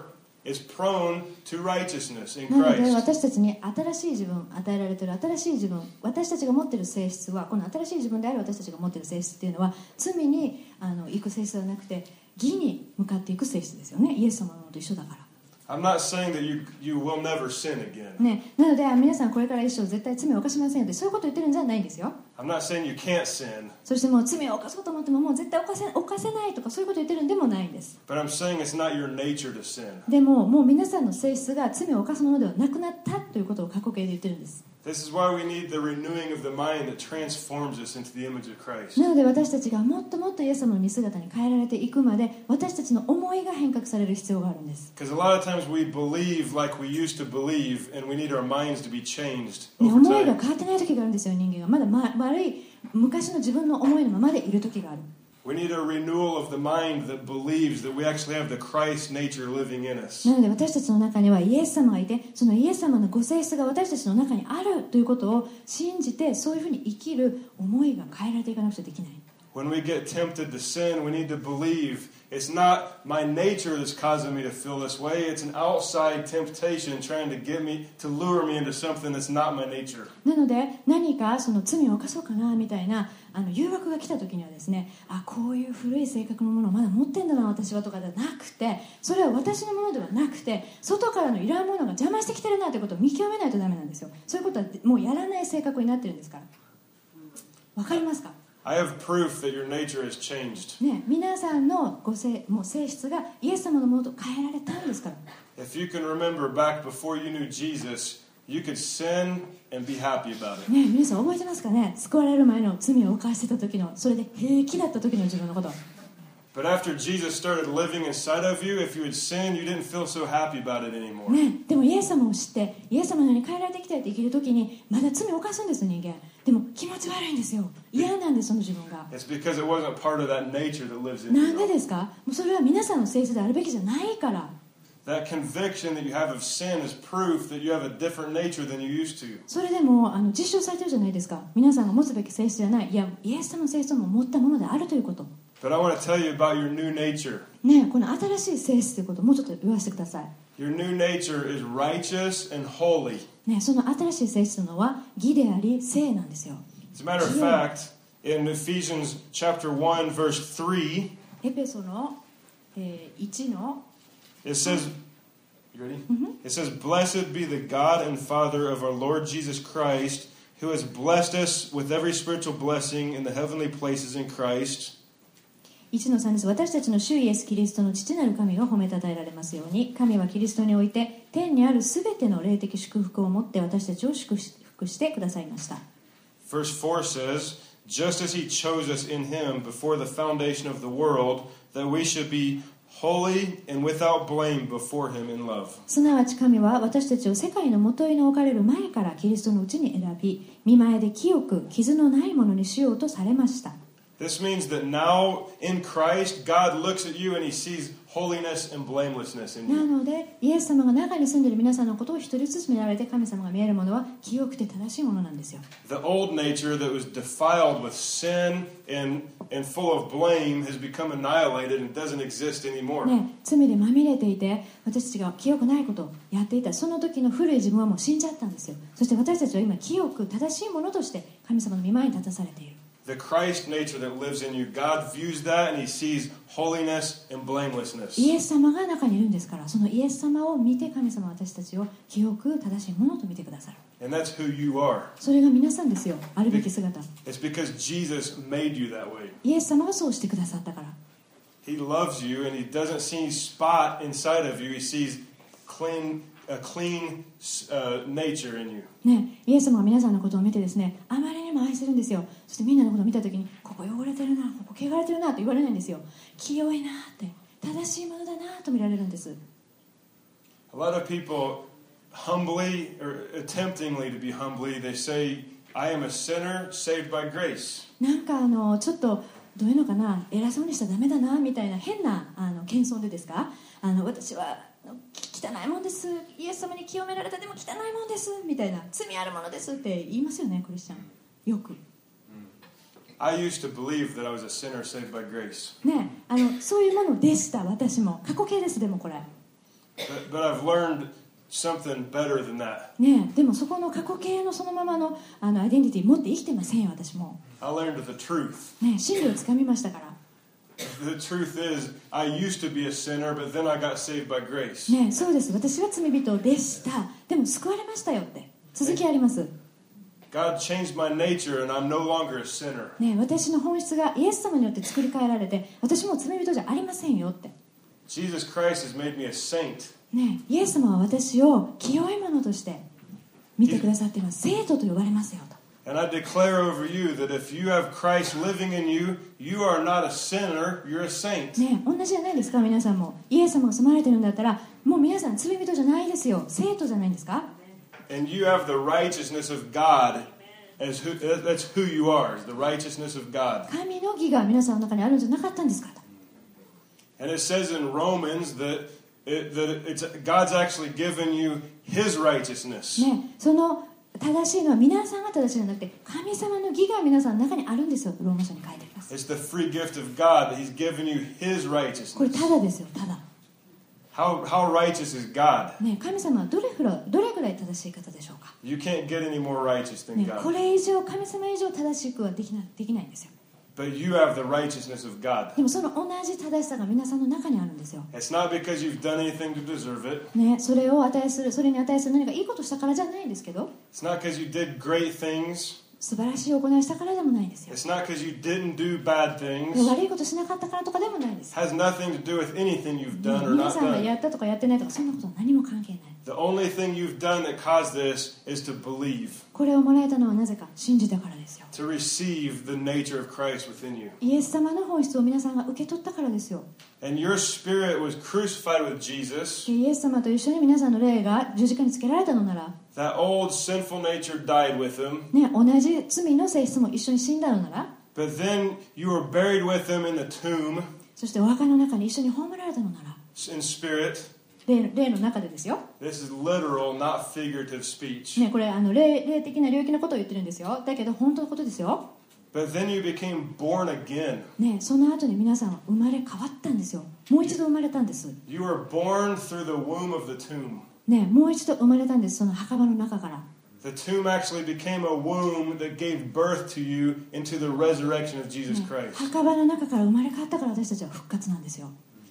Speaker 2: is prone to righteousness in
Speaker 1: なので
Speaker 2: Christ.
Speaker 1: 私たちに新しい自分、与えられている新しい自分、私たちが持っている性質は、この新しい自分である私たちが持っている性質っていうのは罪にあの行く性質ではなくて義に向かっていく性質ですよね。イエス様のと一緒だから。
Speaker 2: I'm not saying that you, you will never sin again.
Speaker 1: ね、なので皆さんこれから一生絶対罪を犯しませんよってそういうことを言ってるんじゃないんですよ。
Speaker 2: I'm not saying you can't sin,
Speaker 1: そしてもう罪を犯そうと思ってももう絶対犯せ、犯せないとかそういうことを言ってるんでもないんです。
Speaker 2: but I'm saying it's not your nature to sin.
Speaker 1: でももう皆さんの性質が罪を犯すものではなくなったということを過去形で言ってるんです。
Speaker 2: This is why we need the renewing of the mind that transforms us into the image of Christ.
Speaker 1: なので私たちがもっともっとイエス様の似姿に変えられていくまで私たちの思いが変革される必要があるんです。
Speaker 2: Because a lot of times we believe like we used to believe, and we need our minds to be changed
Speaker 1: ね、
Speaker 2: over
Speaker 1: 思いが
Speaker 2: time.
Speaker 1: 変わってない時があるんですよ。人間がまだ、ま、悪い昔の自分の思いのままでいる時がある。
Speaker 2: We need a renewal of the mind that believes that we actually have the Christ nature living in us.
Speaker 1: なので私たちの中にはイエス様がいてそのイエス様のご性質が私たちの中にあるということを信じてそういうふうに生きる思いが変えられていかなくちゃできない。
Speaker 2: When we get tempted to sin, we need to believe it's not my nature that's causing me to feel this way. It's an outside temptation trying to get me, to lure me into something that's not my nature.
Speaker 1: なので何かその罪を犯そうかなみたいなあの誘惑が来た時にはですね、あ、こういう古い性格のものをまだ持ってんだな私はとかではなくて、それは私のものではなくて外からのいらんものが邪魔してきてるなということを見極めないとダメなんですよ。そういうことはもうやらない性格になってるんですから。わかりますか？
Speaker 2: I have proof that your nature has changed.
Speaker 1: ね、皆さんのご性、もう性質がイエス様のものと変えられたんですから。
Speaker 2: If you can remember back before you knew Jesus, you could sin and be happy about it.
Speaker 1: ね、皆さん覚えてますかね？救われる前の罪を犯してた時の、それで平気だった時の自分のこと。
Speaker 2: But after Jesus started living inside of you, if you had sinned, you didn't feel so happy about it anymore.
Speaker 1: ね、でもイエス様を知ってイエス様のように変えられてきたいって生きる時にまだ罪を犯すんです人間。でも気持ち悪いんですよ。嫌なんですその自分が。
Speaker 2: It's because it wasn't part of that nature that lives in
Speaker 1: なんで
Speaker 2: you.
Speaker 1: ですか？もうそれは皆さんの性質であるべきじゃないから。
Speaker 2: That conviction that you have of sin is proof that you have a different nature than you used to.
Speaker 1: それでもあの実証されてるじゃないですか。皆さんが持つべき性質じゃない、いやイエス様の性質も持ったものであるということ。
Speaker 2: But I want to tell you about your new nature.
Speaker 1: ね、この新しい性質ということをもうちょっと言わせてください。
Speaker 2: Your new nature is righteous and holy.
Speaker 1: ね、その新しい性質というのは義であり聖なんですよ。
Speaker 2: As a matter of fact, in Ephesians chapter one, verse three,
Speaker 1: エペソの、えー、いちの
Speaker 2: it says, you ready? It says, Blessed be the God and Father of our Lord Jesus Christ, who has blessed us with every spiritual blessing in the heavenly places in Christ.
Speaker 1: いちのさんです。私たちの主イエス・キリストの父なる神が褒めたたえられますように、神はキリストにおいて天にあるすべての霊的祝福を持って私たちを祝福してくださいました。
Speaker 2: Verse four says, Just as he chose us in him before the foundation of the world, that we should be holy and without blame before him in love.
Speaker 1: すなわち神は私たちを世界の元に置かれる前からキリストのうちに選び、御前で清く傷のないものにしようとされました。
Speaker 2: This means that now in Christ, God looks at you and he sees holiness and blamelessness in
Speaker 1: な
Speaker 2: you.
Speaker 1: のでイエス様が中に住んでいる皆さんのことを一人ずつ見られて神様が見えるものは清くて正しいものなんですよ。
Speaker 2: The old nature that was defiled with sin and, and full of blame has become annihilated and doesn't exist anymore.
Speaker 1: ね、罪でまみれていて私たちが清くないことをやっていたその時の古い自分はもう死んじゃったんですよ。そして私たちは今清く正しいものとして神様の御前に立たされている。
Speaker 2: The Christ nature that lives in you, God views that and he sees holiness and blamelessness.
Speaker 1: イエス様が中にいるんですから、そのイエス様を見て神様は私たちを清く正しいものと見てくださる。
Speaker 2: And that's who you are.
Speaker 1: それが皆さんですよ。あるべき姿。
Speaker 2: It's because Jesus made you that way.
Speaker 1: イエス様がそうしてくださったから。
Speaker 2: He loves you and he doesn't see spot inside of you. He sees clean, a clean uh, nature in you.
Speaker 1: ね、イエス様が皆さんのことを見てですね、あまりにも愛してるんですよ。そしてみんなのことを見たときに、ここ汚れてるな、ここ汚れてるなと言われないんですよ。清いなって、正しいものだなと見られるんです。
Speaker 2: A lot of people humbly or attemptingly to be humbly, they say, I am a sinner saved by grace.
Speaker 1: なんかあのちょっとどういうのかな、偉そうにしたらダメだなみたいな変なあの謙遜でですか、あの私は汚いもんです、イエス様に清められたでも汚いもんですみたいな、罪あるものですって言いますよね、クリスチャンよく。
Speaker 2: I used to believe that I was a sinner saved by grace.
Speaker 1: ね、あのそういうものでした。私も過去形です。でもこれ
Speaker 2: But, but I've learned something better than that.
Speaker 1: ねえ、でもそこの過去形のそのままの、あのアイデンティティ持って生きてませんよ、私も。
Speaker 2: I learned the truth.
Speaker 1: ねえ、真理をつかみましたから。
Speaker 2: The truth is, I used to be a sinner, but then I got saved by grace.
Speaker 1: ねえ、そうです。私は罪人でした。でも救われましたよって。続きあります。
Speaker 2: God changed my nature, and I'm no longer a sinner.
Speaker 1: ねえ、私の本質がイエス様によって作り変えられて、私も罪人じゃありませんよって。
Speaker 2: Jesus Christ has made me a saint.
Speaker 1: ねえ、イエス様は私を清いものとして見てくださっています。生徒と呼ばれますよと。
Speaker 2: And I declare over you that if you have Christ living in you, you are not a sinner, you're a saint.
Speaker 1: ねえ、同じじゃないですか、皆さんも。イエス様が住まれてるんだったら、もう皆さん罪人じゃないですよ。生徒じゃないんですか。
Speaker 2: And you have the righteousness of God as who, that's who you are, the righteousness of God.
Speaker 1: 神の義が皆さんの中にあるんじゃなかったんですかと。
Speaker 2: And it says in Romans that, it, that it's, God's actually given you His righteousness.
Speaker 1: ねえ、その正しいのは皆さんが正しいのではなくて、神様の義が皆さんの中にあるんですよ。ローマ書に書いてあります。
Speaker 2: It's the free gift of God that He's given you His
Speaker 1: これ
Speaker 2: righteousness.
Speaker 1: ただですよ、ただ。
Speaker 2: How, how righteous is God?
Speaker 1: ねえ、神様はどれくらい、どれくらい正しい方でしょうか。
Speaker 2: You can't get any more righteous than
Speaker 1: ねえ、こ
Speaker 2: God.
Speaker 1: れ以上、神様以上正しくはできない、できないんですよ。
Speaker 2: But you have the righteousness of God.
Speaker 1: でもその同じ正しさが皆さんの中にあるんですよ。
Speaker 2: It's not because you've done anything to deserve it.
Speaker 1: ね、それを値する、それに値する何かいいことしたからじゃないんですけど、
Speaker 2: It's not because you did great things.
Speaker 1: 素晴らしい行いしたからでもないんですよ。
Speaker 2: It's not because you didn't do bad
Speaker 1: で
Speaker 2: things.
Speaker 1: 悪いことしなかったからとかでもないです。
Speaker 2: It has nothing to do with anything you've done or
Speaker 1: 皆
Speaker 2: not
Speaker 1: さんが
Speaker 2: done.
Speaker 1: やったとかやってないとかそんなことは何も関係ない。
Speaker 2: The only thing you've done that caused this is to believe,
Speaker 1: これをもらえたのはなぜか信じたからですよ。
Speaker 2: to receive the nature of Christ within you.
Speaker 1: イエス様の本質を皆さんが受け取ったからですよ。
Speaker 2: And your spirit was crucified with Jesus.
Speaker 1: イエス様と一緒に皆さんの霊が十字架につけられたのなら、
Speaker 2: That old sinful nature died with him.
Speaker 1: ね、同じ罪の性質も一緒に死んだのなら、
Speaker 2: But then you were buried with him in the tomb
Speaker 1: そしてお墓の中に一緒に葬られたのなら、
Speaker 2: in spirit.
Speaker 1: 霊, 霊の中でですよ。
Speaker 2: This is literal, not figurative speech.
Speaker 1: ね、これあの 霊, 霊的な領域のことを言ってるんですよ。だけど本当のことですよ。
Speaker 2: But then you became born again.
Speaker 1: ね、その後に皆さんは生まれ変わったんですよ。もう一度生まれたんです。
Speaker 2: You were born through the womb of the tomb.
Speaker 1: ね、もう一度生まれたんです。その墓場の中から。
Speaker 2: The tomb actually became a womb that gave birth to you into the resurrection of Jesus
Speaker 1: ね、
Speaker 2: Christ.
Speaker 1: 墓場の中から生まれ変わったから私たちは復活なんですよ。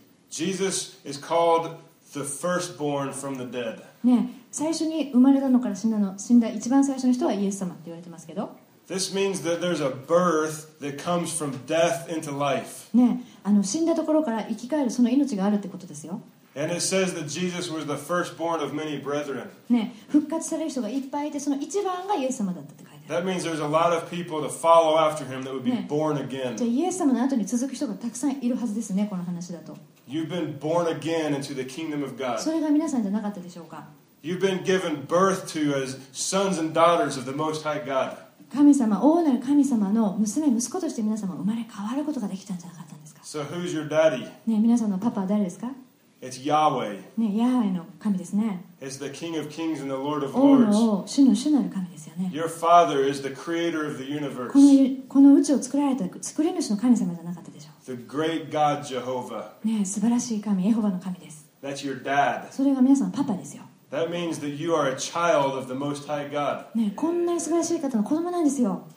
Speaker 2: Jesus is called the firstborn from the dead.
Speaker 1: ね、最初に生まれたのから死んだの、死んだ一番最初の人はイエス様って言われてますけど、
Speaker 2: This means that there's a birth that comes from death into life.
Speaker 1: ね、あの死んだところから生き返るその命があるってことですよ。
Speaker 2: And it says that Jesus was the firstborn of many brethren.
Speaker 1: ね、復活される人がいっぱいいて、その一番がイエス様だったって書いてある。
Speaker 2: That means there's a lot of people to follow after him that would be
Speaker 1: Yeah.
Speaker 2: born
Speaker 1: じゃあ
Speaker 2: again.
Speaker 1: イエス様の後に続く人がたくさんいるはずですね、この話だと。
Speaker 2: You've been born again into the kingdom of
Speaker 1: そ
Speaker 2: God.
Speaker 1: れが皆さんじゃなかったでしょうか。
Speaker 2: You've been given birth to as sons and daughters of the Most High God.
Speaker 1: 神様、大なる神様の娘、息子として皆様生まれ変わることができたんじゃなかったんですか。
Speaker 2: So who's your daddy?
Speaker 1: ね、皆さんのパパは誰ですか。
Speaker 2: It's Yahweh.
Speaker 1: ね、ヤハウェの神ですね。
Speaker 2: It's the King of Kings and the Lord of
Speaker 1: 王
Speaker 2: Lords.
Speaker 1: の王、主の主なる神ですよね。
Speaker 2: Your Father is the creator of the
Speaker 1: この
Speaker 2: universe.
Speaker 1: この宇宙を作られた作り主の神様じゃなかったでしょ
Speaker 2: The great God Jehovah.
Speaker 1: う。ね、素晴らしい神、エホバの神です。
Speaker 2: That's your dad.
Speaker 1: それが皆さんパパですよ。
Speaker 2: That means that you are a child of the Most High God.
Speaker 1: ね、こんなに素晴らしい方の子供なんですよ。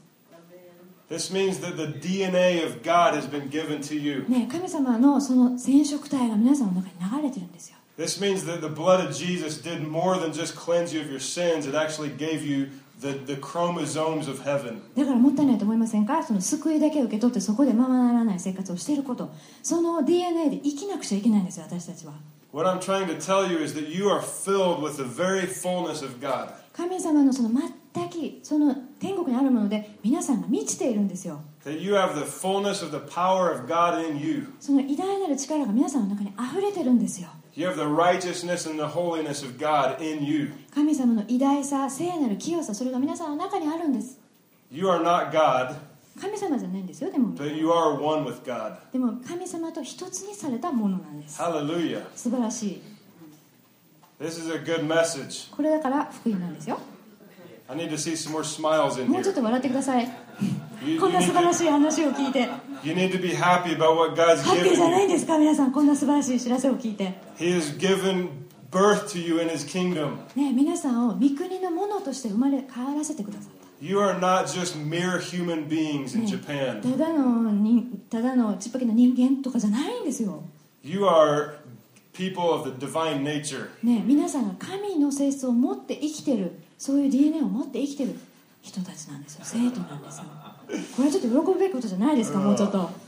Speaker 2: This means that the D N A of God has been given to you.
Speaker 1: ね、神様のその染色体が皆さんの中に流れてるんですよ。
Speaker 2: This means that the blood of Jesus did more than just cleanse you of your sins. It actually gave you the, the chromosomes of heaven.
Speaker 1: だからもったいないと思いませんか。その救いだけ受け取ってそこでままならない生活をしていること、その ディーエヌエー で生きなくちゃいけないんですよ、私たちは。
Speaker 2: What I'm trying to tell you is that you are filled with the very fullness of God.
Speaker 1: 神様のその全きその天国にあるもので皆さんが満ちているんですよ。
Speaker 2: That you have the fullness of the power of God in you.
Speaker 1: その偉大なる力が皆さんの中にあふれてるんですよ。
Speaker 2: You have the righteousness and the holiness of God in you.
Speaker 1: 神様の偉大さ、聖なる清さ、それが皆さんの中にあるんです。
Speaker 2: You are not God,
Speaker 1: 神様じゃないんですよ。でも
Speaker 2: but you are one with God.
Speaker 1: でも神様と一つにされたものなんです。
Speaker 2: Hallelujah.
Speaker 1: 素晴らしい。
Speaker 2: This is a good message.
Speaker 1: これだから福音なんですよ。
Speaker 2: I need to see some more smiles in
Speaker 1: もうちょっ
Speaker 2: here.
Speaker 1: と笑ってください。
Speaker 2: You,
Speaker 1: こん
Speaker 2: you
Speaker 1: な
Speaker 2: need
Speaker 1: 素晴ら
Speaker 2: to,
Speaker 1: しい話を聞いて。
Speaker 2: you need to be happy about what God's
Speaker 1: ハッピー
Speaker 2: given
Speaker 1: じゃない
Speaker 2: you.
Speaker 1: んですか皆さん。こんな素晴らしい知らせを聞いて。
Speaker 2: He has given birth to you in His kingdom.
Speaker 1: ね、皆さんを御国のものとして生まれ変わらせてくださった。
Speaker 2: You are not just mere human beings in
Speaker 1: ね、
Speaker 2: Japan.
Speaker 1: ただのにただのちっぽけな人間とかじゃないんですよ。
Speaker 2: You are people of the divine nature.
Speaker 1: ね、皆さんが神の性質を持って生きてる、そういう ディーエヌエー を持って生きてる人たちなんですよ。生徒なんですよ。これはちょっと喜ぶべきことじゃないですか、もうちょっと。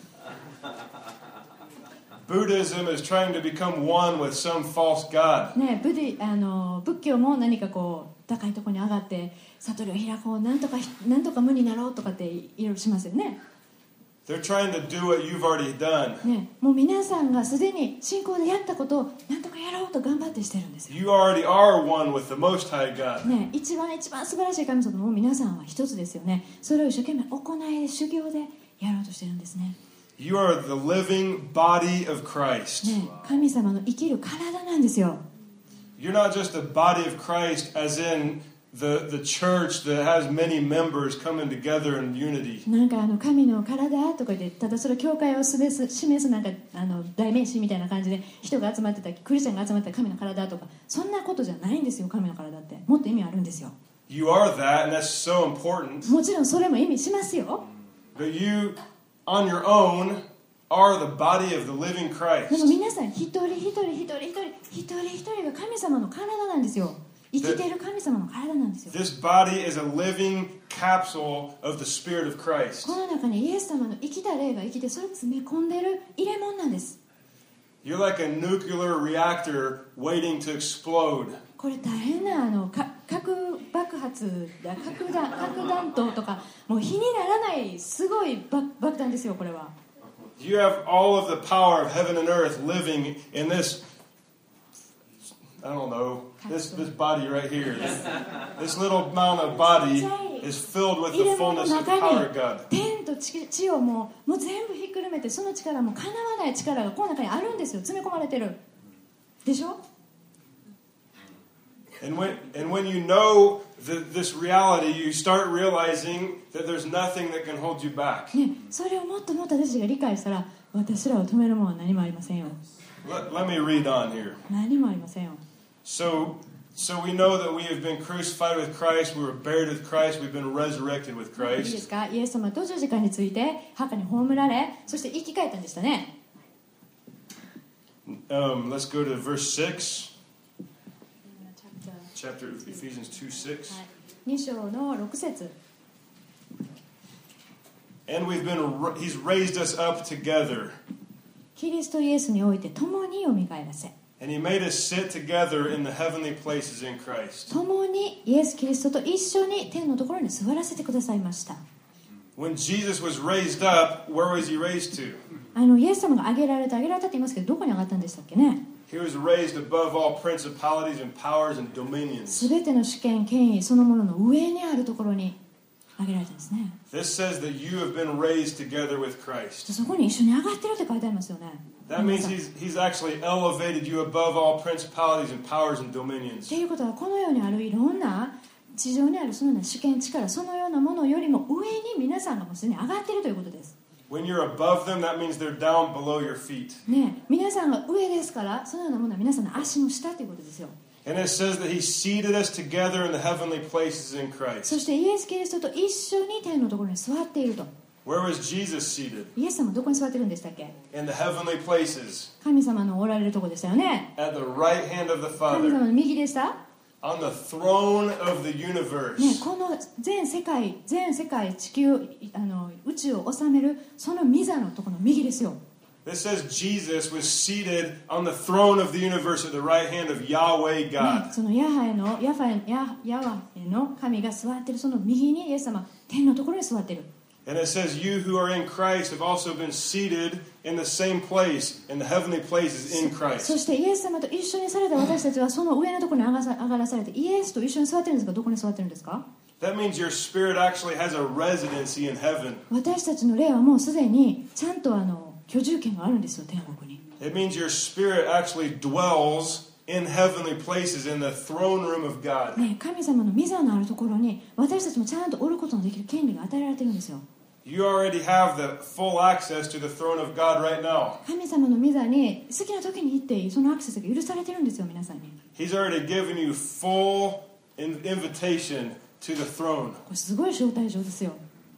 Speaker 2: Buddhism is trying to become one with some false god.
Speaker 1: ね、ブディあの仏教も何かこう高いところに上がって悟りを開こう、なんとかなんとか無になろうとかっていろいろしますよね。
Speaker 2: They're trying to do what you've already done.
Speaker 1: ね、もう皆さんがすでに信仰でやったことをなんとかやろうと頑張ってしてるんですよ。
Speaker 2: You already are one with the Most High God.
Speaker 1: ね、一番一番素晴らしい神様も皆さんは一つですよね。それを一生懸命行いで修行でやろうとしてるんですね。
Speaker 2: You are the living body of Christ.
Speaker 1: ね、神様の生きる体なんですよ。
Speaker 2: You're not just the body of Christ as in the, the church that has many members coming together in unity.
Speaker 1: なんかあの神の体とかでただそれ教会を示す示すなんかあの代名詞みたいな感じで人が集まってたクリスチャンが集まってた神の体とかそんなことじゃないんですよ。神の体ってもっと意味あるんですよ。
Speaker 2: You are that, and that's so important.
Speaker 1: もちろんそれも意味しますよ。
Speaker 2: But you, on your own, are the body of the living
Speaker 1: でも
Speaker 2: Christ.
Speaker 1: 皆さん一人一人一人一人一人一人が神様の体なんですよ。生きている神様の体なんですよ。
Speaker 2: This body is a living capsule of the Spirit of Christ.
Speaker 1: この中にイエス様の生きた霊が生きてそれを詰め込んでいる入れ物なんです。
Speaker 2: You're like a nuclear reactor waiting to explode.
Speaker 1: これ大変なあのか核爆発だ核弾核弾頭とかもう火にならないすごい爆爆弾ですよ。これは
Speaker 2: You have all of the power of heaven and earth living in this, I don't know, this, this body right here. This, this little amount of body is filled with
Speaker 1: 入
Speaker 2: the
Speaker 1: れ物の
Speaker 2: fullness of
Speaker 1: 中
Speaker 2: power
Speaker 1: に
Speaker 2: of God.
Speaker 1: 天と地地をもうもう全部ひっくるめてその力もかなわない力がこの中にあるんですよ。詰め込まれてるでしょ。
Speaker 2: And when, and when you know the, this reality, you start realizing that there's nothing that can hold you back.
Speaker 1: ね、それをもっともっと私たちが理解したら私らを止めるものは何もありませんよ。
Speaker 2: Let, let me read on here.
Speaker 1: 何もありませんよ。
Speaker 2: So, so we know that we have been crucified with Christ, we were buried with Christ, we've been resurrected with
Speaker 1: いいです
Speaker 2: Christ.
Speaker 1: か。イエス様と十字架について墓に葬られそして生き返ったんでしたね。
Speaker 2: Um, let's go to verse six, chapter Ephesians two six.
Speaker 1: に章のろく節。
Speaker 2: And we've been, he's raised us up together.
Speaker 1: キリストイエスにおいて共によみがえらせ
Speaker 2: And he made us sit together in the heavenly places in Christ.
Speaker 1: 共にイエス・キリストと一緒に天のところに座らせてくださいました。
Speaker 2: When Jesus was raised up, where was he raised to?
Speaker 1: あのイエス様が挙げられた挙げられたって言いますけどどこに上がったんでしたっけね。
Speaker 2: He was raised above all principalities and powers and dominions.
Speaker 1: すべての主権権威そのものの上にあるところに挙げられたんですね。
Speaker 2: This says that you have been raised together with Christ.
Speaker 1: そこに一緒に上がってるって書いてありますよね。
Speaker 2: That means he's, he's actually elevated you above all principalities and powers and dominions.
Speaker 1: っていうことはこの世にあるいろんな地上にあるそのような主権力そのようなものよりも上に皆さんがもうすでに上がっているということです。
Speaker 2: When you're above them, that means they're down below your feet.
Speaker 1: ね、皆さんが上ですからそのようなものは皆さんの足の下ということですよ。
Speaker 2: And it says that he seated us together in the heavenly places in
Speaker 1: そ
Speaker 2: Christ.
Speaker 1: してイエス・キリストと一緒に天のところに座っていると。
Speaker 2: Where was Jesus seated?
Speaker 1: イエス様はどこに座ってるんでしたっけ。
Speaker 2: In the heavenly places.
Speaker 1: 神様のおられるところでしたよね。
Speaker 2: At the right hand of the
Speaker 1: 神
Speaker 2: Father.
Speaker 1: 様の右でした。
Speaker 2: On the throne of the
Speaker 1: ね、
Speaker 2: universe.
Speaker 1: この全世界全世界地球あの宇宙を治めるその御座のところの右ですよ。
Speaker 2: This says Jesus was seated on the throne of the universe at the right hand of Yahweh
Speaker 1: ね、
Speaker 2: God.
Speaker 1: そのヤハエのヤファエヤヤワエの神が座っているその右にイエス様天のところに座っている。
Speaker 2: And it says, you who are in Christ have also been seated in the same place, in the heavenly places in
Speaker 1: そ
Speaker 2: Christ.
Speaker 1: してイエス様と一緒にされた私たちはその上のところに上がさ上がらされてイエスと一緒に座ってるんですがどこに座ってるんですか。
Speaker 2: That means your spirit actually has a residency in heaven.
Speaker 1: 私たちの霊はもうすでにちゃんとあの居住権があるんですよ天国に。
Speaker 2: It means your spirit actually dwells in heavenly places in the throne room of God.
Speaker 1: ね、神様の御座のあるところに私たちもちゃんとおることのできる権利が与えられてるんですよ。
Speaker 2: You already have the full access to the throne of God right now.
Speaker 1: 神様の御座に好きな時に行っていい、そのアクセスが許されてるんですよ、皆さんに。
Speaker 2: He's already given you full invitation to the throne.
Speaker 1: これすごい招待状ですよ。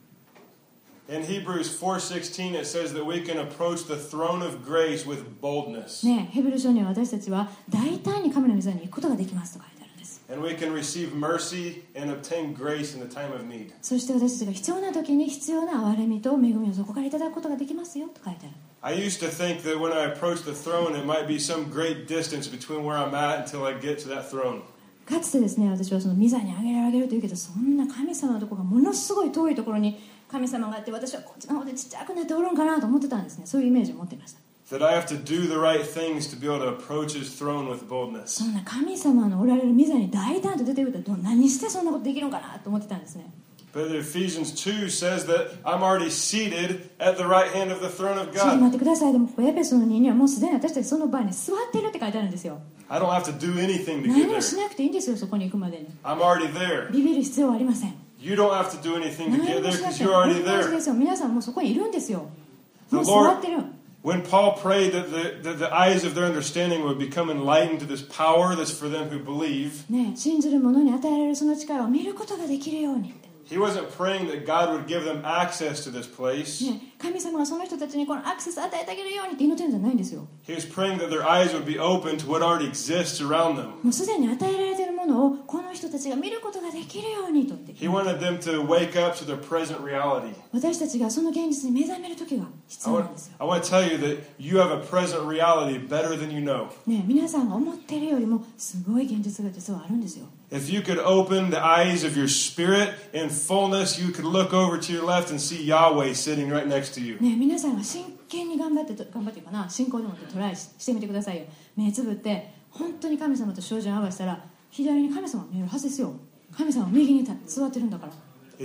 Speaker 2: In Hebrews four sixteen, it says that we can approach the throne of grace with boldness.
Speaker 1: ね、ヘブル書には私たちは大胆に神の御座に行くことができますと書いてあるんです。
Speaker 2: And we can receive mercy and obtain grace in the time of need.
Speaker 1: そして私たちが必要な時に必要な憐れみと恵みをそこからいただくことができますよと書いてある。
Speaker 2: I used to think that when I approached the throne, it might be some great distance between where I'm at until I get to that throne.
Speaker 1: かつてですね、私はその御座にあげるあげるというけど、そんな神様のところがものすごい遠いところに神様があって、私はこっちの方でちっちゃくなっておるんかなと思ってたんですね。そういうイメージを持っていました。
Speaker 2: That I have to do the right things to be able to approach His throne with boldness.
Speaker 1: そんな神様のおられる御座に大胆と出てくると何してそんなことできるのかなと思ってたんですね。
Speaker 2: But Ephesians two says that I'm already seated at the right hand of the throne of
Speaker 1: ちょっと
Speaker 2: God.
Speaker 1: 待ってください。でもここエペソのににはもうすでに私たちその場に座っているって書いてあるんですよ。
Speaker 2: I don't have to do anything to
Speaker 1: 何
Speaker 2: get
Speaker 1: も
Speaker 2: there.
Speaker 1: しなくていいんですよ、そこに行くまでに。
Speaker 2: I'm already there.
Speaker 1: ビビる必要はありません。
Speaker 2: You don't have to do anything to
Speaker 1: 何
Speaker 2: get
Speaker 1: も
Speaker 2: there
Speaker 1: しな
Speaker 2: because
Speaker 1: くて
Speaker 2: you're
Speaker 1: 同
Speaker 2: already
Speaker 1: じで
Speaker 2: there.
Speaker 1: すよ。皆さんもうそこにいるんですよ。
Speaker 2: The
Speaker 1: もう座
Speaker 2: Lord,
Speaker 1: ってる。
Speaker 2: when Paul prayed that the, that the eyes of their understanding would become enlightened to this power that's for them who believe,
Speaker 1: ね、信じる者に与えられるその力を見ることができるようにって。
Speaker 2: he wasn't praying that God would give them access to this place.
Speaker 1: ね、神様がその人たちにこのアクセスを与えてあげるようにって祈ってるんじゃないんですよ。
Speaker 2: He was praying that their eyes would be open to what already exists around them.
Speaker 1: もうすでに与えられているものをこの人たちが見ることができるようにとって。
Speaker 2: He wanted them to wake up to their present reality.
Speaker 1: 私たちがその現実に目覚める時が必
Speaker 2: I
Speaker 1: 要
Speaker 2: want,
Speaker 1: なんですよ。
Speaker 2: I want to tell you that you have a present reality better than you know.
Speaker 1: ね、皆さんが思っているよりもすごい現実が実はあるんですよ。
Speaker 2: If you could open the eyes of your spirit in fullness, you could look over to your left and see Yahweh sitting right next to you.
Speaker 1: ね、皆さんが真剣に頑張ってと頑張っていうかな、信仰でもってトライししてみてくださいよ。目つぶって本当に神様と照準を合わせたら左に神様が見えるはずですよ。神様は右に座ってるんだから。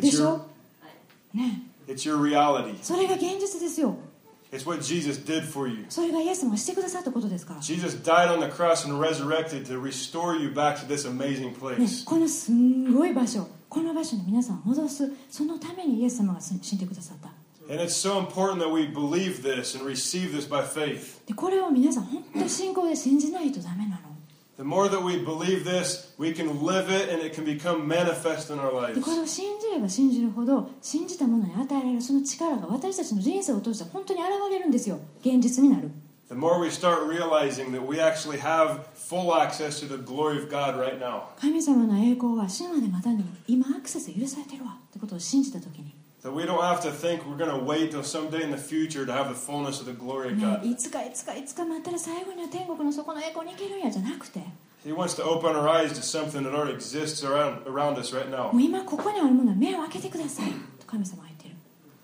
Speaker 1: でしょ？ね。
Speaker 2: It's your reality.
Speaker 1: それが現実ですよ。
Speaker 2: It's what Jesus did for you.
Speaker 1: それがイエス様がしてくださったことですから。
Speaker 2: Jesus died on the cross and resurrected to restore you back to this amazing
Speaker 1: ね、
Speaker 2: place.
Speaker 1: このすんごい場所、この場所に皆さんを戻す、そのためにイエス様が死んでくださった。
Speaker 2: And it's so important that we believe this and receive this by faith.
Speaker 1: で、これを皆さん本当に信仰で信じないとダメなの。
Speaker 2: The more that we believe this, we can live it and it can become manifest in our
Speaker 1: で、こ
Speaker 2: lives.
Speaker 1: れを信じれば信じるほど、信じたものに与えられるその力が私たちの人生を通して本当に現れるんですよ。現実になる。
Speaker 2: The more we start realizing that we actually have full access to the glory of God right now.
Speaker 1: 神様の栄光は死ぬまで待たんでも今アクセス許されてるわってことを信じたときに、
Speaker 2: That we don't have to think we're going to wait till someday in the future to have the fullness of the glory of
Speaker 1: ね、
Speaker 2: God.
Speaker 1: いつかいつかいつか待ったら最後には天国の底の栄光に行けるんやじゃなくて、
Speaker 2: He wants to open our eyes to something that already exists around, around us right now.
Speaker 1: もう今ここにあるものは目を開けてくださいと神様は言ってる。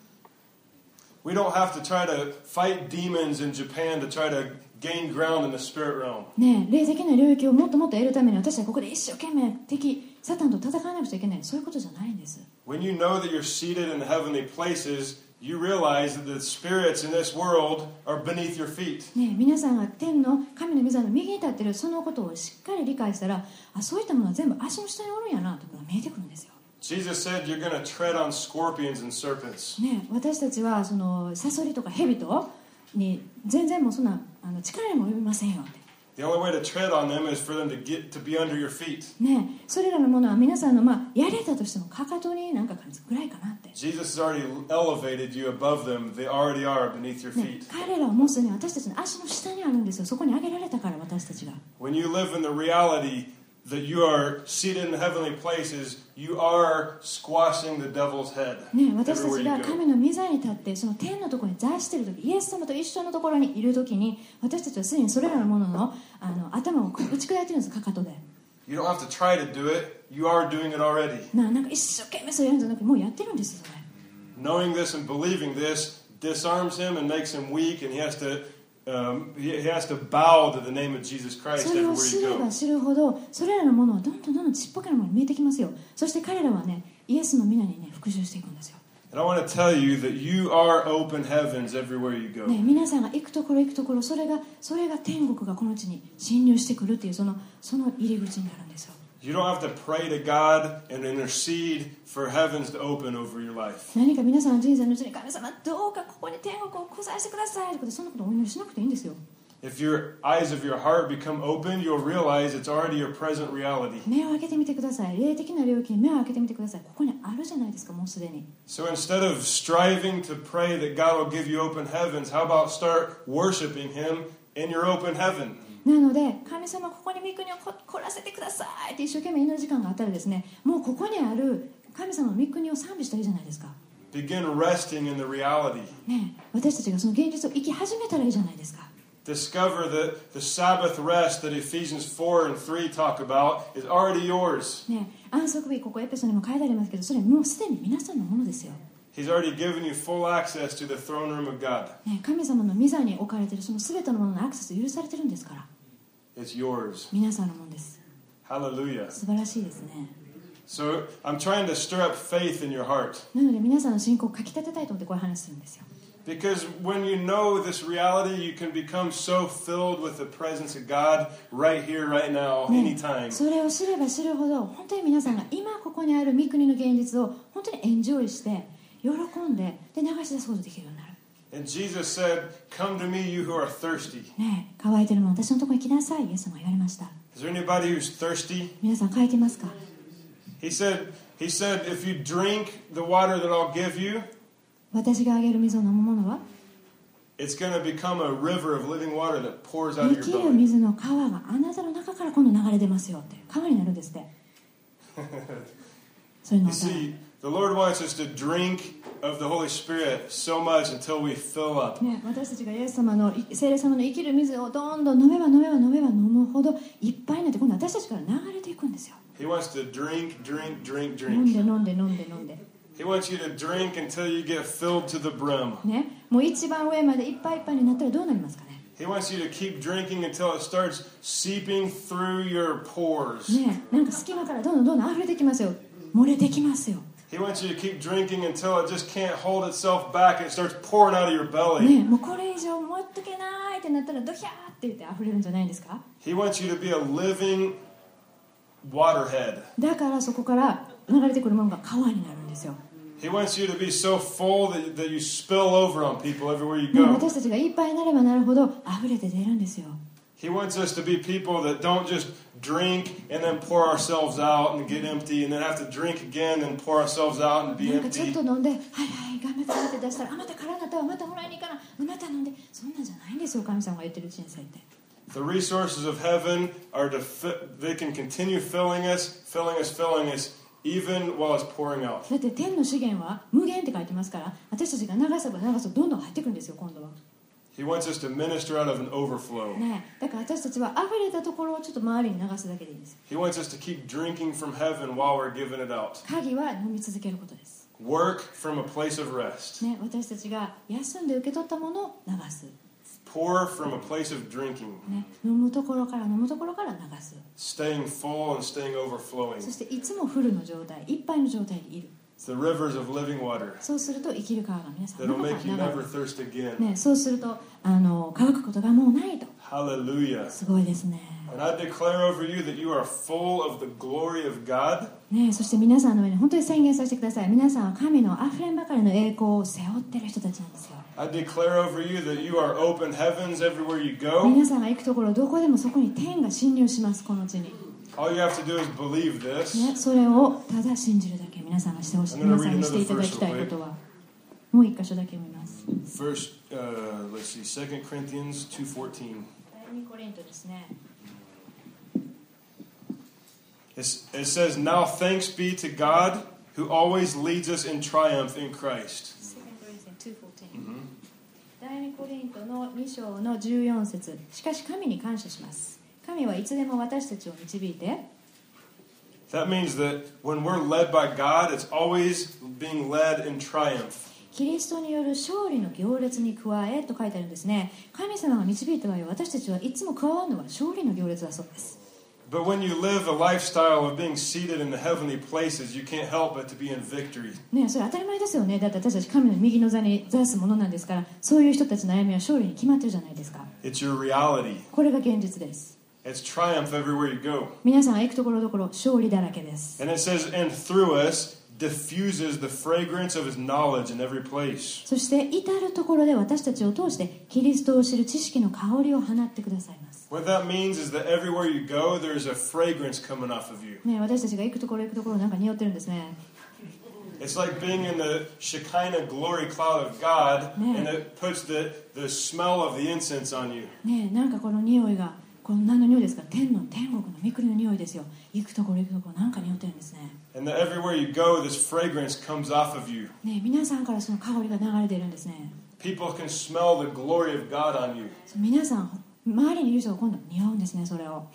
Speaker 2: We don't have to try to fight demons in Japan to try to gain ground in the spirit realm.
Speaker 1: ねえ、霊的な領域をもっともっと得るために私はここで一生懸命敵サタンと戦わなくちゃいけない、そういうことじゃないんです。
Speaker 2: When you know that you're seated in the heavenly places, you realize that the spirits in this world are beneath your feet.
Speaker 1: ねえ、皆さんが天の神の御座の右に立っているそのことをしっかり理解したら、あ、そういったものは全部足の下におるんやなということが見えてくるんですよ。
Speaker 2: Jesus said you're going to tread on scorpions and serpents.
Speaker 1: ねえ、私たちはそのサソリとかヘビとに全然もうそんなあの力にも及びませんよって。
Speaker 2: The only way to tread on them is for them to get to be under your feet.
Speaker 1: ねえ、それらのものは皆さんの、まあ、やれたとしてもかかとになんか感じぐらいかなって。
Speaker 2: Jesus has already elevated you above them. They already are beneath your
Speaker 1: ね、
Speaker 2: feet.
Speaker 1: 彼らはもうすでに私たちの足の下にあるんですよ。そこに上げられたから私たちが。
Speaker 2: When you live in the reality that you are seated in the heavenly places, you are squashing the devil's head
Speaker 1: ね、私た
Speaker 2: everywhere
Speaker 1: ち
Speaker 2: you
Speaker 1: が
Speaker 2: go.
Speaker 1: 神の御座に立ってその天のところに座している時、イエス様と一緒のところにいる時に私たちはすでにそれらのものの、あの頭を打ち砕いてるんです、かかとで。
Speaker 2: You don't have to try to do it. You are doing it already.
Speaker 1: な, なんか一生懸命それやるんじゃなくてもうやってるんですよ、それ。
Speaker 2: Knowing this and believing this disarms him and makes him weak, and he has to um, he, he has to bow to the name of Jesus Christ
Speaker 1: それを
Speaker 2: everywhere
Speaker 1: 知
Speaker 2: you
Speaker 1: れば
Speaker 2: go.
Speaker 1: 知るほどそれらのものはどんどんどんどんちっぽけなものに見えてきますよ。そして彼らはね、イエスの皆にね復讐していくんですよ。
Speaker 2: And I want to tell you that you are open heavens everywhere you go.
Speaker 1: ね、皆さんが行くところ行くところ、それがそれが天国がこの地に侵入してくるっていうそのその入り口になるんですよ。
Speaker 2: You don't have to pray to God and intercede for heavens to open over your life.
Speaker 1: 何か皆さんの人生のうちに神様どうかここに天国を来させてくださいとかそんなことお祈りしなくていいんですよ。
Speaker 2: If your eyes of your heart become open, you'll realize it's already your present reality.
Speaker 1: 目を開けてみてください。霊的な領域に目を開けてみてください。ここにあるじゃないですか、もうすでに。
Speaker 2: So instead of striving to pray that God will give you open heavens, how about start worshiping Him in your open heaven?
Speaker 1: なので神様ここに御国を来らせてくださいって一生懸命祈る時間があったらですね、もうここにある神様の御国を賛美したらいいじゃないですか。
Speaker 2: Begin resting in the reality.
Speaker 1: ねえ、私たちがその現実を生き始めたらいいじゃないですか。
Speaker 2: Discover that the Sabbath rest that Ephesians four and three talk about is already yours.
Speaker 1: ねえ、安息日ここエペソにも書いてありますけど、それもうすでに皆さんのものですよ。
Speaker 2: He's already given you full access to the throne room of God.
Speaker 1: ねえ、神様の御座に置かれているその全てのもののアクセス許されてるんですから。
Speaker 2: It's yours.
Speaker 1: 皆さんのものです。
Speaker 2: Hallelujah.
Speaker 1: 素晴らしいですね。
Speaker 2: So I'm trying to stir up faith in your heart.
Speaker 1: なので皆さんの信仰をかき立てたいと思ってこういう話するんですよ。
Speaker 2: Because when you know this reality, you can become so filled with the presence of God right here, right now,
Speaker 1: ね、
Speaker 2: anytime.
Speaker 1: それを知れば知るほど本当に皆さんが今ここにある御国の現実を本当にエンジョイして喜んでで流し出すことができるようになる。
Speaker 2: And Jesus said, "Come to me, you who are thirsty."
Speaker 1: ねえ、乾いてるの私のところに来なさい。イエス様が言われました。
Speaker 2: Is there anybody who's thirsty?
Speaker 1: 皆さん乾いてますか？
Speaker 2: He said, he said, if you drink the water that I'll give you,
Speaker 1: 私があげる水を飲むものは
Speaker 2: it's going to become a river of living water that pours out
Speaker 1: 生
Speaker 2: of
Speaker 1: き
Speaker 2: your
Speaker 1: る
Speaker 2: belly.
Speaker 1: 水の川があなたの中から今度流れ出ますよって川になるんですって。そういうの
Speaker 2: You
Speaker 1: をたら
Speaker 2: see, the Lord wants us to drink of the Holy Spirit so much until we fill up.
Speaker 1: ね、私たちがイエス様の聖霊様の生きる水をどんどん飲めば飲めば飲めば飲むほどいっぱいになって今度私たちから流れていくんですよ。
Speaker 2: He wants to drink, drink, drink,
Speaker 1: 飲んで
Speaker 2: drink.
Speaker 1: 飲んで飲んで飲んで、
Speaker 2: He wants you to drink until you get filled to the brim.
Speaker 1: ね、もう一番上までいっぱいいっぱいになったらどうなりますかね。
Speaker 2: He wants you to keep drinking until it starts seeping through your pores.
Speaker 1: ね、なんか隙間からどんどんどんどん溢れてきますよ。漏れてきますよ。
Speaker 2: He wants you to keep drinking until it just can't hold itself back and it starts pouring out of your belly.
Speaker 1: ね、もうこれ以上持っとけないってなったらドヒャーって言って溢れるんじゃないですか。
Speaker 2: He wants you to be a living waterhead.
Speaker 1: だからそこから流れてくるものが川になるんですよ。
Speaker 2: He wants you to be so full that, that you spill over on people everywhere you
Speaker 1: ね、
Speaker 2: go.
Speaker 1: 私たちがいっぱいになればなるほど溢れて出るんですよ。
Speaker 2: He wants us to be people that don't just drink and then pour ourselves out and get empty and then have to drink again and pour ourselves out and be
Speaker 1: なんかちょっ
Speaker 2: empty.
Speaker 1: と飲んではいはい頑張って頑張って出したらあまた空になったわまたもらいに行かなまた飲んでそんなんじゃないんですよ。神様が言ってる人生って。
Speaker 2: The resources of heaven are to fi- they can continue filling us, filling us, filling us, even while it's pouring out.
Speaker 1: だって天の資源は無限って書いてますから私たちが流せば流すとどんどん入ってくるんですよ今度は。
Speaker 2: He wants us to minister out of an overflow.
Speaker 1: ね、だから私たちは溢れたところをちょっと周りに流すだけでいいんです。
Speaker 2: He wants us to keep drinking from heaven while we're giving it out.
Speaker 1: 鍵は飲み続けることです。
Speaker 2: Work from a place of rest.
Speaker 1: ね、私たちが休んで受け取ったものを流す。
Speaker 2: Pour from a place of drinking.
Speaker 1: ね、飲むところから飲むところから流す。
Speaker 2: Staying full and staying overflowing.
Speaker 1: そしていつもフルの状態、いっぱいの状態にいる。
Speaker 2: The rivers of living water
Speaker 1: そうすると生きる川が皆さん
Speaker 2: that'll
Speaker 1: の中
Speaker 2: make you
Speaker 1: から流
Speaker 2: never
Speaker 1: れる。
Speaker 2: thirst again.
Speaker 1: ね、そうするとあの乾くことがもうないと。
Speaker 2: Hallelujah.
Speaker 1: すごいですね。
Speaker 2: And I declare over you that you are full of the glory of God.
Speaker 1: ね、そして皆さんの上に本当に宣言させてください。皆さんは神のあふれんばかりの栄光を背負っている人たちなんですよ。
Speaker 2: I declare over you that you are open heavens everywhere you go.
Speaker 1: 皆さんが行くところどこでもそこに天が侵入しますこの地に。
Speaker 2: All you have to do is believe this.
Speaker 1: ね、それをただ信じるだけ皆さんがしてほしい。皆さんにしていただきたいことはもう一箇所だけ見ます。
Speaker 2: First, uh, let's see, Second Corinthians two fourteen.
Speaker 1: 第二コリントですね。
Speaker 2: It's, it says, "Now thanks be to God who always leads us in triumph in Christ."
Speaker 1: 第二コリントのに章のじゅうよん節。しかし神に感謝します。神はいつでも私たちを導いて。
Speaker 2: That means that when we're led by God, it's always being led in triumph.
Speaker 1: キリストによる勝利の行列に加えと書いてあるんですね。神様が導いた場合私たちはいつも加わるのは勝利の行列だそうです。
Speaker 2: But when you live a lifestyle of being seated in the heavenly places, you can't help but to be in victory.
Speaker 1: ね、それ当たり前ですよね。だって私たち神の右の座に座すものなんですからそういう人たちの悩みは勝利に決まってるじゃないですか。
Speaker 2: It's your reality.
Speaker 1: これが現実です。
Speaker 2: It's triumph everywhere you go.
Speaker 1: 皆さんが行くところどころ勝利だらけです。
Speaker 2: And it says, and through us diffuses the fragrance of his knowledge in every place.
Speaker 1: そして至るところで私たちを通してキリストを知る知識の香りを放ってくださいます。
Speaker 2: What that means is that everywhere you go, there's a fragrance coming off of you.
Speaker 1: ね、私たちが行くところ行くところなんか匂ってるんですね。
Speaker 2: It's like being in the Shekinah glory cloud of God,
Speaker 1: Yeah.
Speaker 2: and it puts the, the smell of the incense on you.
Speaker 1: ね、なんかこの匂いがこの何の匂いですか？天の天国の御国の匂いですよ。行くところ行くところなんか匂ってるんですね。
Speaker 2: And that everywhere you go, this fragrance comes off of you.
Speaker 1: ね、皆さんからその香りが流れているんですね。
Speaker 2: People can smell the glory of God on you.
Speaker 1: 皆さん周りにいる人が今度匂うんですね、それを。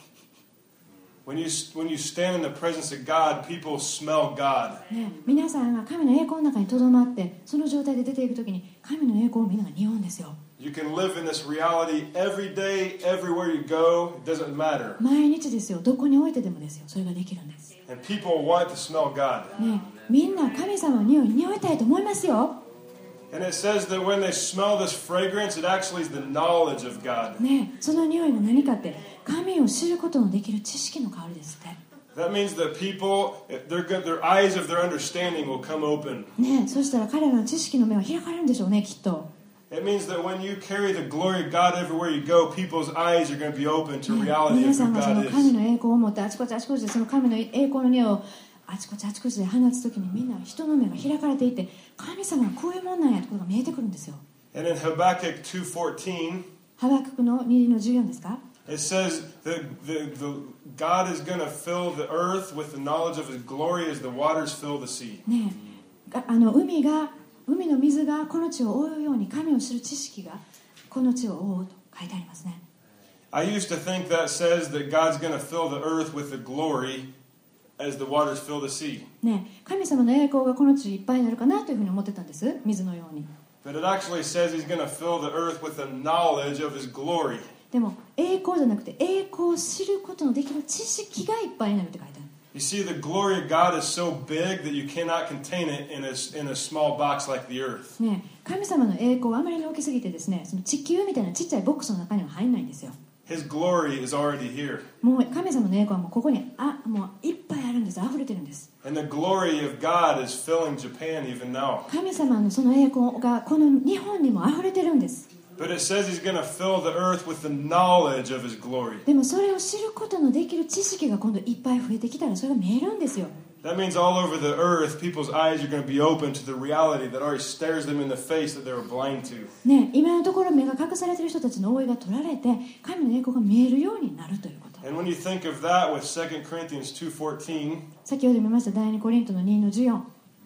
Speaker 2: When you, when you stand in the presence of God, people smell God.
Speaker 1: ね、皆さんが神の栄光の中にとどまってその状態で出ていくときに神の栄光をみんなが匂うんですよ。
Speaker 2: You can live in this reality every day, everywhere you go. It doesn't matter.
Speaker 1: 毎日ですよ、どこに置いてでもですよ、それができるんです。
Speaker 2: And people want to smell God.
Speaker 1: ね、みんな神様の匂いに匂いたいと思いますよ。
Speaker 2: And it says that when they smell this fragrance, it actually is the knowledge of God.
Speaker 1: ね、その匂いが何かって神を知ることのできる知識の香りですって。
Speaker 2: That means that people, their, their eyes of their understanding will come open.
Speaker 1: ね、そしたら彼らの知識の目は開かれるんでしょうね、きっと。
Speaker 2: It means that when you carry the glory of God everywhere you go, people's eyes are going to be open to
Speaker 1: ね、
Speaker 2: reality
Speaker 1: 皆
Speaker 2: of
Speaker 1: さん
Speaker 2: who
Speaker 1: がその
Speaker 2: God
Speaker 1: 神
Speaker 2: is.
Speaker 1: の栄光を持ってあちこちあちこちでその神の栄光の匂いをあちこちあちこちで放つときにみんな人の目が開かれていて神様がこういうもんなんやということが見えてくるんですよ。
Speaker 2: And in Habakkuk two fourteen,
Speaker 1: ハバククのにのじゅうよんですか？
Speaker 2: it says that the, the, God is going to fill the earth with the knowledge of his glory as the waters fill the sea.
Speaker 1: ねえ、があの海が海の水がこの地を覆うように神を知る知識がこの地を覆うと書いてありますね。
Speaker 2: I used to think that says that God's going to fill the earth with the glory as the waters fill the sea.
Speaker 1: ねえ、神様の栄光がこの地いっぱいになるかなというふうに思ってたんです、水のように。
Speaker 2: But it actually says he's going to fill the earth with the knowledge of his glory.
Speaker 1: でも栄光じゃなくて栄光を知ることのできる知識がいっぱいになるって書いてある。
Speaker 2: You see, the glory of God is so big that you cannot contain it in a, in a small box like the earth.
Speaker 1: ねえ、神様の栄光はあまりに大きすぎてですね、その地球みたいなちっちゃいボックスの中には入んないんですよ。
Speaker 2: His glory is already here.
Speaker 1: もう神様の栄光はもうここにあもういっぱいあるんです、溢れてるんです。
Speaker 2: And the glory of God is filling Japan even now.
Speaker 1: 神様のその栄光がこの日本にも溢れてるんです。
Speaker 2: But it says he's going to fill the earth with the knowledge of his glory.
Speaker 1: でもそれを知ることのできる知識が今度いっぱい増えてきたらそれが見えるんですよ。
Speaker 2: That means all over the earth, people's eyes are going to be open to the reality that already stares them in the face that they were blind to.
Speaker 1: ね、今のところ目が隠されている人たちの覆いが取られて神の栄光が見えるようになるということ。
Speaker 2: And when you think of that with Second Corinthians two fourteen,
Speaker 1: 先ほど見ました第二コリントのにのじゅうよん、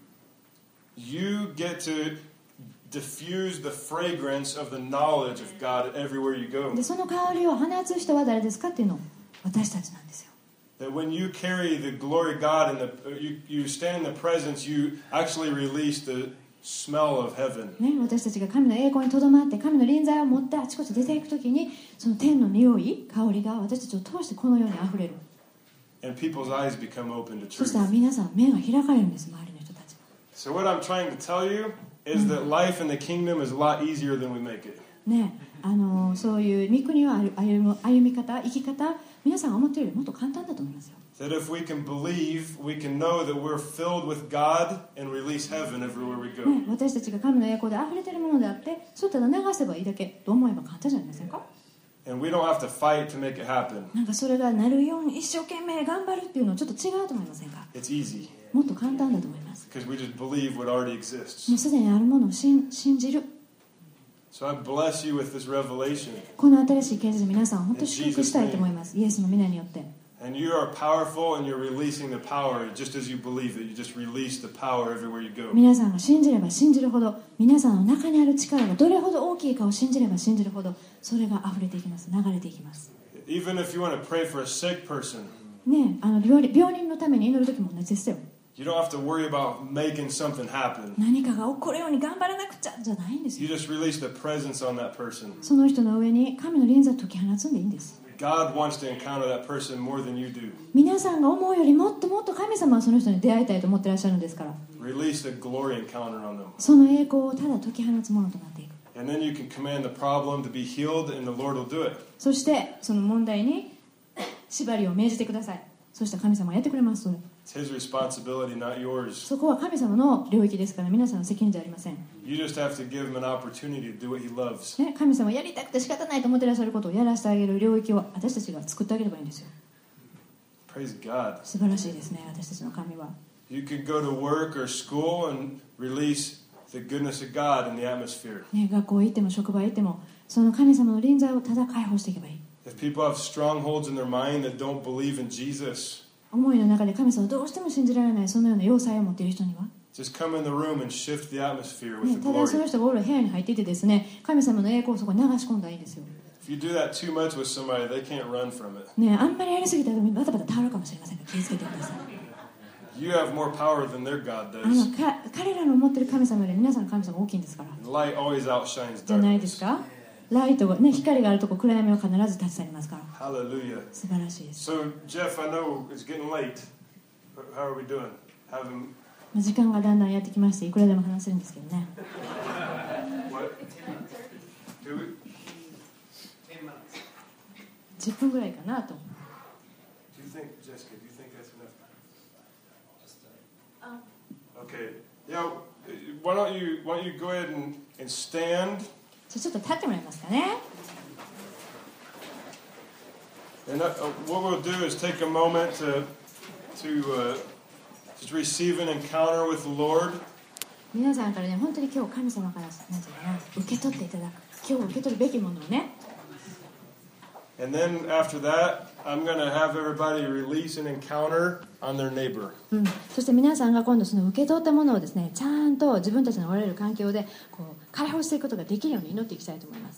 Speaker 2: you get to diffuse the fragrance of the knowledge of God everywhere you go.
Speaker 1: でその香りを放つ人は誰ですかっていうのを私たちなんですよ。
Speaker 2: That when you carry the glory of God and the, you, you stand in the presence, you actually release the smell of heaven.
Speaker 1: ね、私たちが神の栄光にとどまって神の臨在を持ってあちこち出ていくときにその天の匂い香りが私たちを通してこの世にあふれる。
Speaker 2: And people's eyes become open to
Speaker 1: そしたら
Speaker 2: truth.
Speaker 1: 皆さん目が開かれるんです、周りの人たち。
Speaker 2: So what I'm trying to tell you is that life in the kingdom is a lot easier than we make it.
Speaker 1: ね、あのそういう御国を歩む歩み方生き方皆さんが思っているよりもっと簡単だと思いますよ。
Speaker 2: That if we can believe, we can know that we're filled with God and release heaven everywhere we go.
Speaker 1: ね、私たちが神の栄光で溢れているものであってそうただ流せばいいだけと思えば簡単じゃありませんか。
Speaker 2: And we don't have to fight to make it happen.
Speaker 1: なんかそれがなるように一生懸命頑張るっていうのはちょっと違うと思いませんか。
Speaker 2: It's easy
Speaker 1: もっと簡単だと思います。
Speaker 2: because we just believe what already exists.
Speaker 1: もうすでにあるものを信信じる。
Speaker 2: So I bless you with this revelation.
Speaker 1: この新しい啓示で皆さん本当に祝福したいと思います。イエスの皆によって。
Speaker 2: And you are powerful and you're releasing the power just as you believe it. You just release the power everywhere you go.
Speaker 1: 皆さんが信じれば信じるほど皆さんの中にある力がどれほど大きいかを信じれば信じるほどそれが溢れていきます。流れていきます。
Speaker 2: Even if you want to pray for a sick person,
Speaker 1: ね、あの 病, 病人のために祈る時も同じですよ。
Speaker 2: you don't have to worry about making something happen.
Speaker 1: 何かが起こるように頑張らなくちゃじゃないんですよ。
Speaker 2: You just release the presence on that person.
Speaker 1: その人の上に神の臨在を解き放つんでいいんです。
Speaker 2: God wants to encounter that person more than you do.
Speaker 1: 皆さんが思うよりもっともっと神様はその人に出会いたいと思ってらっしゃるんですから
Speaker 2: Release the glory encounter on them.
Speaker 1: その栄光をただ解き放つものとなっていく。
Speaker 2: And then you can command the problem to be healed and the Lord will do it.
Speaker 1: そしてその問題に縛りを命じてください。そしたら神様はやってくれます。それ
Speaker 2: It's His responsibility, not yours.
Speaker 1: そこは神様の領域ですから、皆さんの責任じゃありません、
Speaker 2: You just have to give Him an opportunity to do what He loves.
Speaker 1: ね、神様はやりたくて仕方ないと思ってらっしゃることをやらせてあげる領域を私たちが作ってあげればいいんですよ。
Speaker 2: Praise God.
Speaker 1: 素晴らしいですね、私たちの神は。
Speaker 2: You can go to work or school and release the goodness of God in the atmosphere.
Speaker 1: ね、学校行っても職場行ってもその神様の臨在をただ解放していけばいい。
Speaker 2: If people have strongholds in their mind that don't believe in Jesus,
Speaker 1: 思いの中で神様をどうしても信じられないそのような要塞を持っている人には、
Speaker 2: just come in the room and shift the atmosphere
Speaker 1: ね、
Speaker 2: with the
Speaker 1: ただその
Speaker 2: glory.
Speaker 1: 人がおる部屋に入っていてですね、神様の栄光をそこに流し込んだらいいんですよ。
Speaker 2: If you do that too much with somebody, they can't run from it.
Speaker 1: ね、あんまりやりすぎたらバタバタ倒れるかもしれませんから気をつけてください。
Speaker 2: You have more power than their God
Speaker 1: あの
Speaker 2: does.
Speaker 1: か彼らの持ってる神様より皆さんの神様大きいんですから。
Speaker 2: And light always outshines
Speaker 1: じゃないです
Speaker 2: darkness.
Speaker 1: か。ライトが、ね、光があるとこ暗闇を必ず立ち去りますから。
Speaker 2: Hallelujah.
Speaker 1: 素晴らしいです。
Speaker 2: So, Jeff, I know it's getting late. How are we doing? Having
Speaker 1: 時間がだんだんやってきまして、いくらでも話せるんですけどね。
Speaker 2: what? Do we?
Speaker 1: じゅっぷんぐらいかなと。
Speaker 2: Do you think, Jessica? Do you think that's enough time? Okay. Yeah. Why don't you Why don't you go ahead and, and stand?
Speaker 1: じゃあちょっと立ってもらえますかね。
Speaker 2: And uh, what we'll do is take a moment to to uh, just receive an encounter with the Lord.
Speaker 1: 皆さんからね、本当に今日神様からなんていうかな、受け取っていただく、今日受け取るべきものをね。
Speaker 2: And then after that, I'm going to have everybody release an encounter on their neighbor.
Speaker 1: うん、そして皆さんが今度その受け取ったものをですね、ちゃんと自分たちのおられる環境でこう解放していくことができるように祈っていきたいと思います。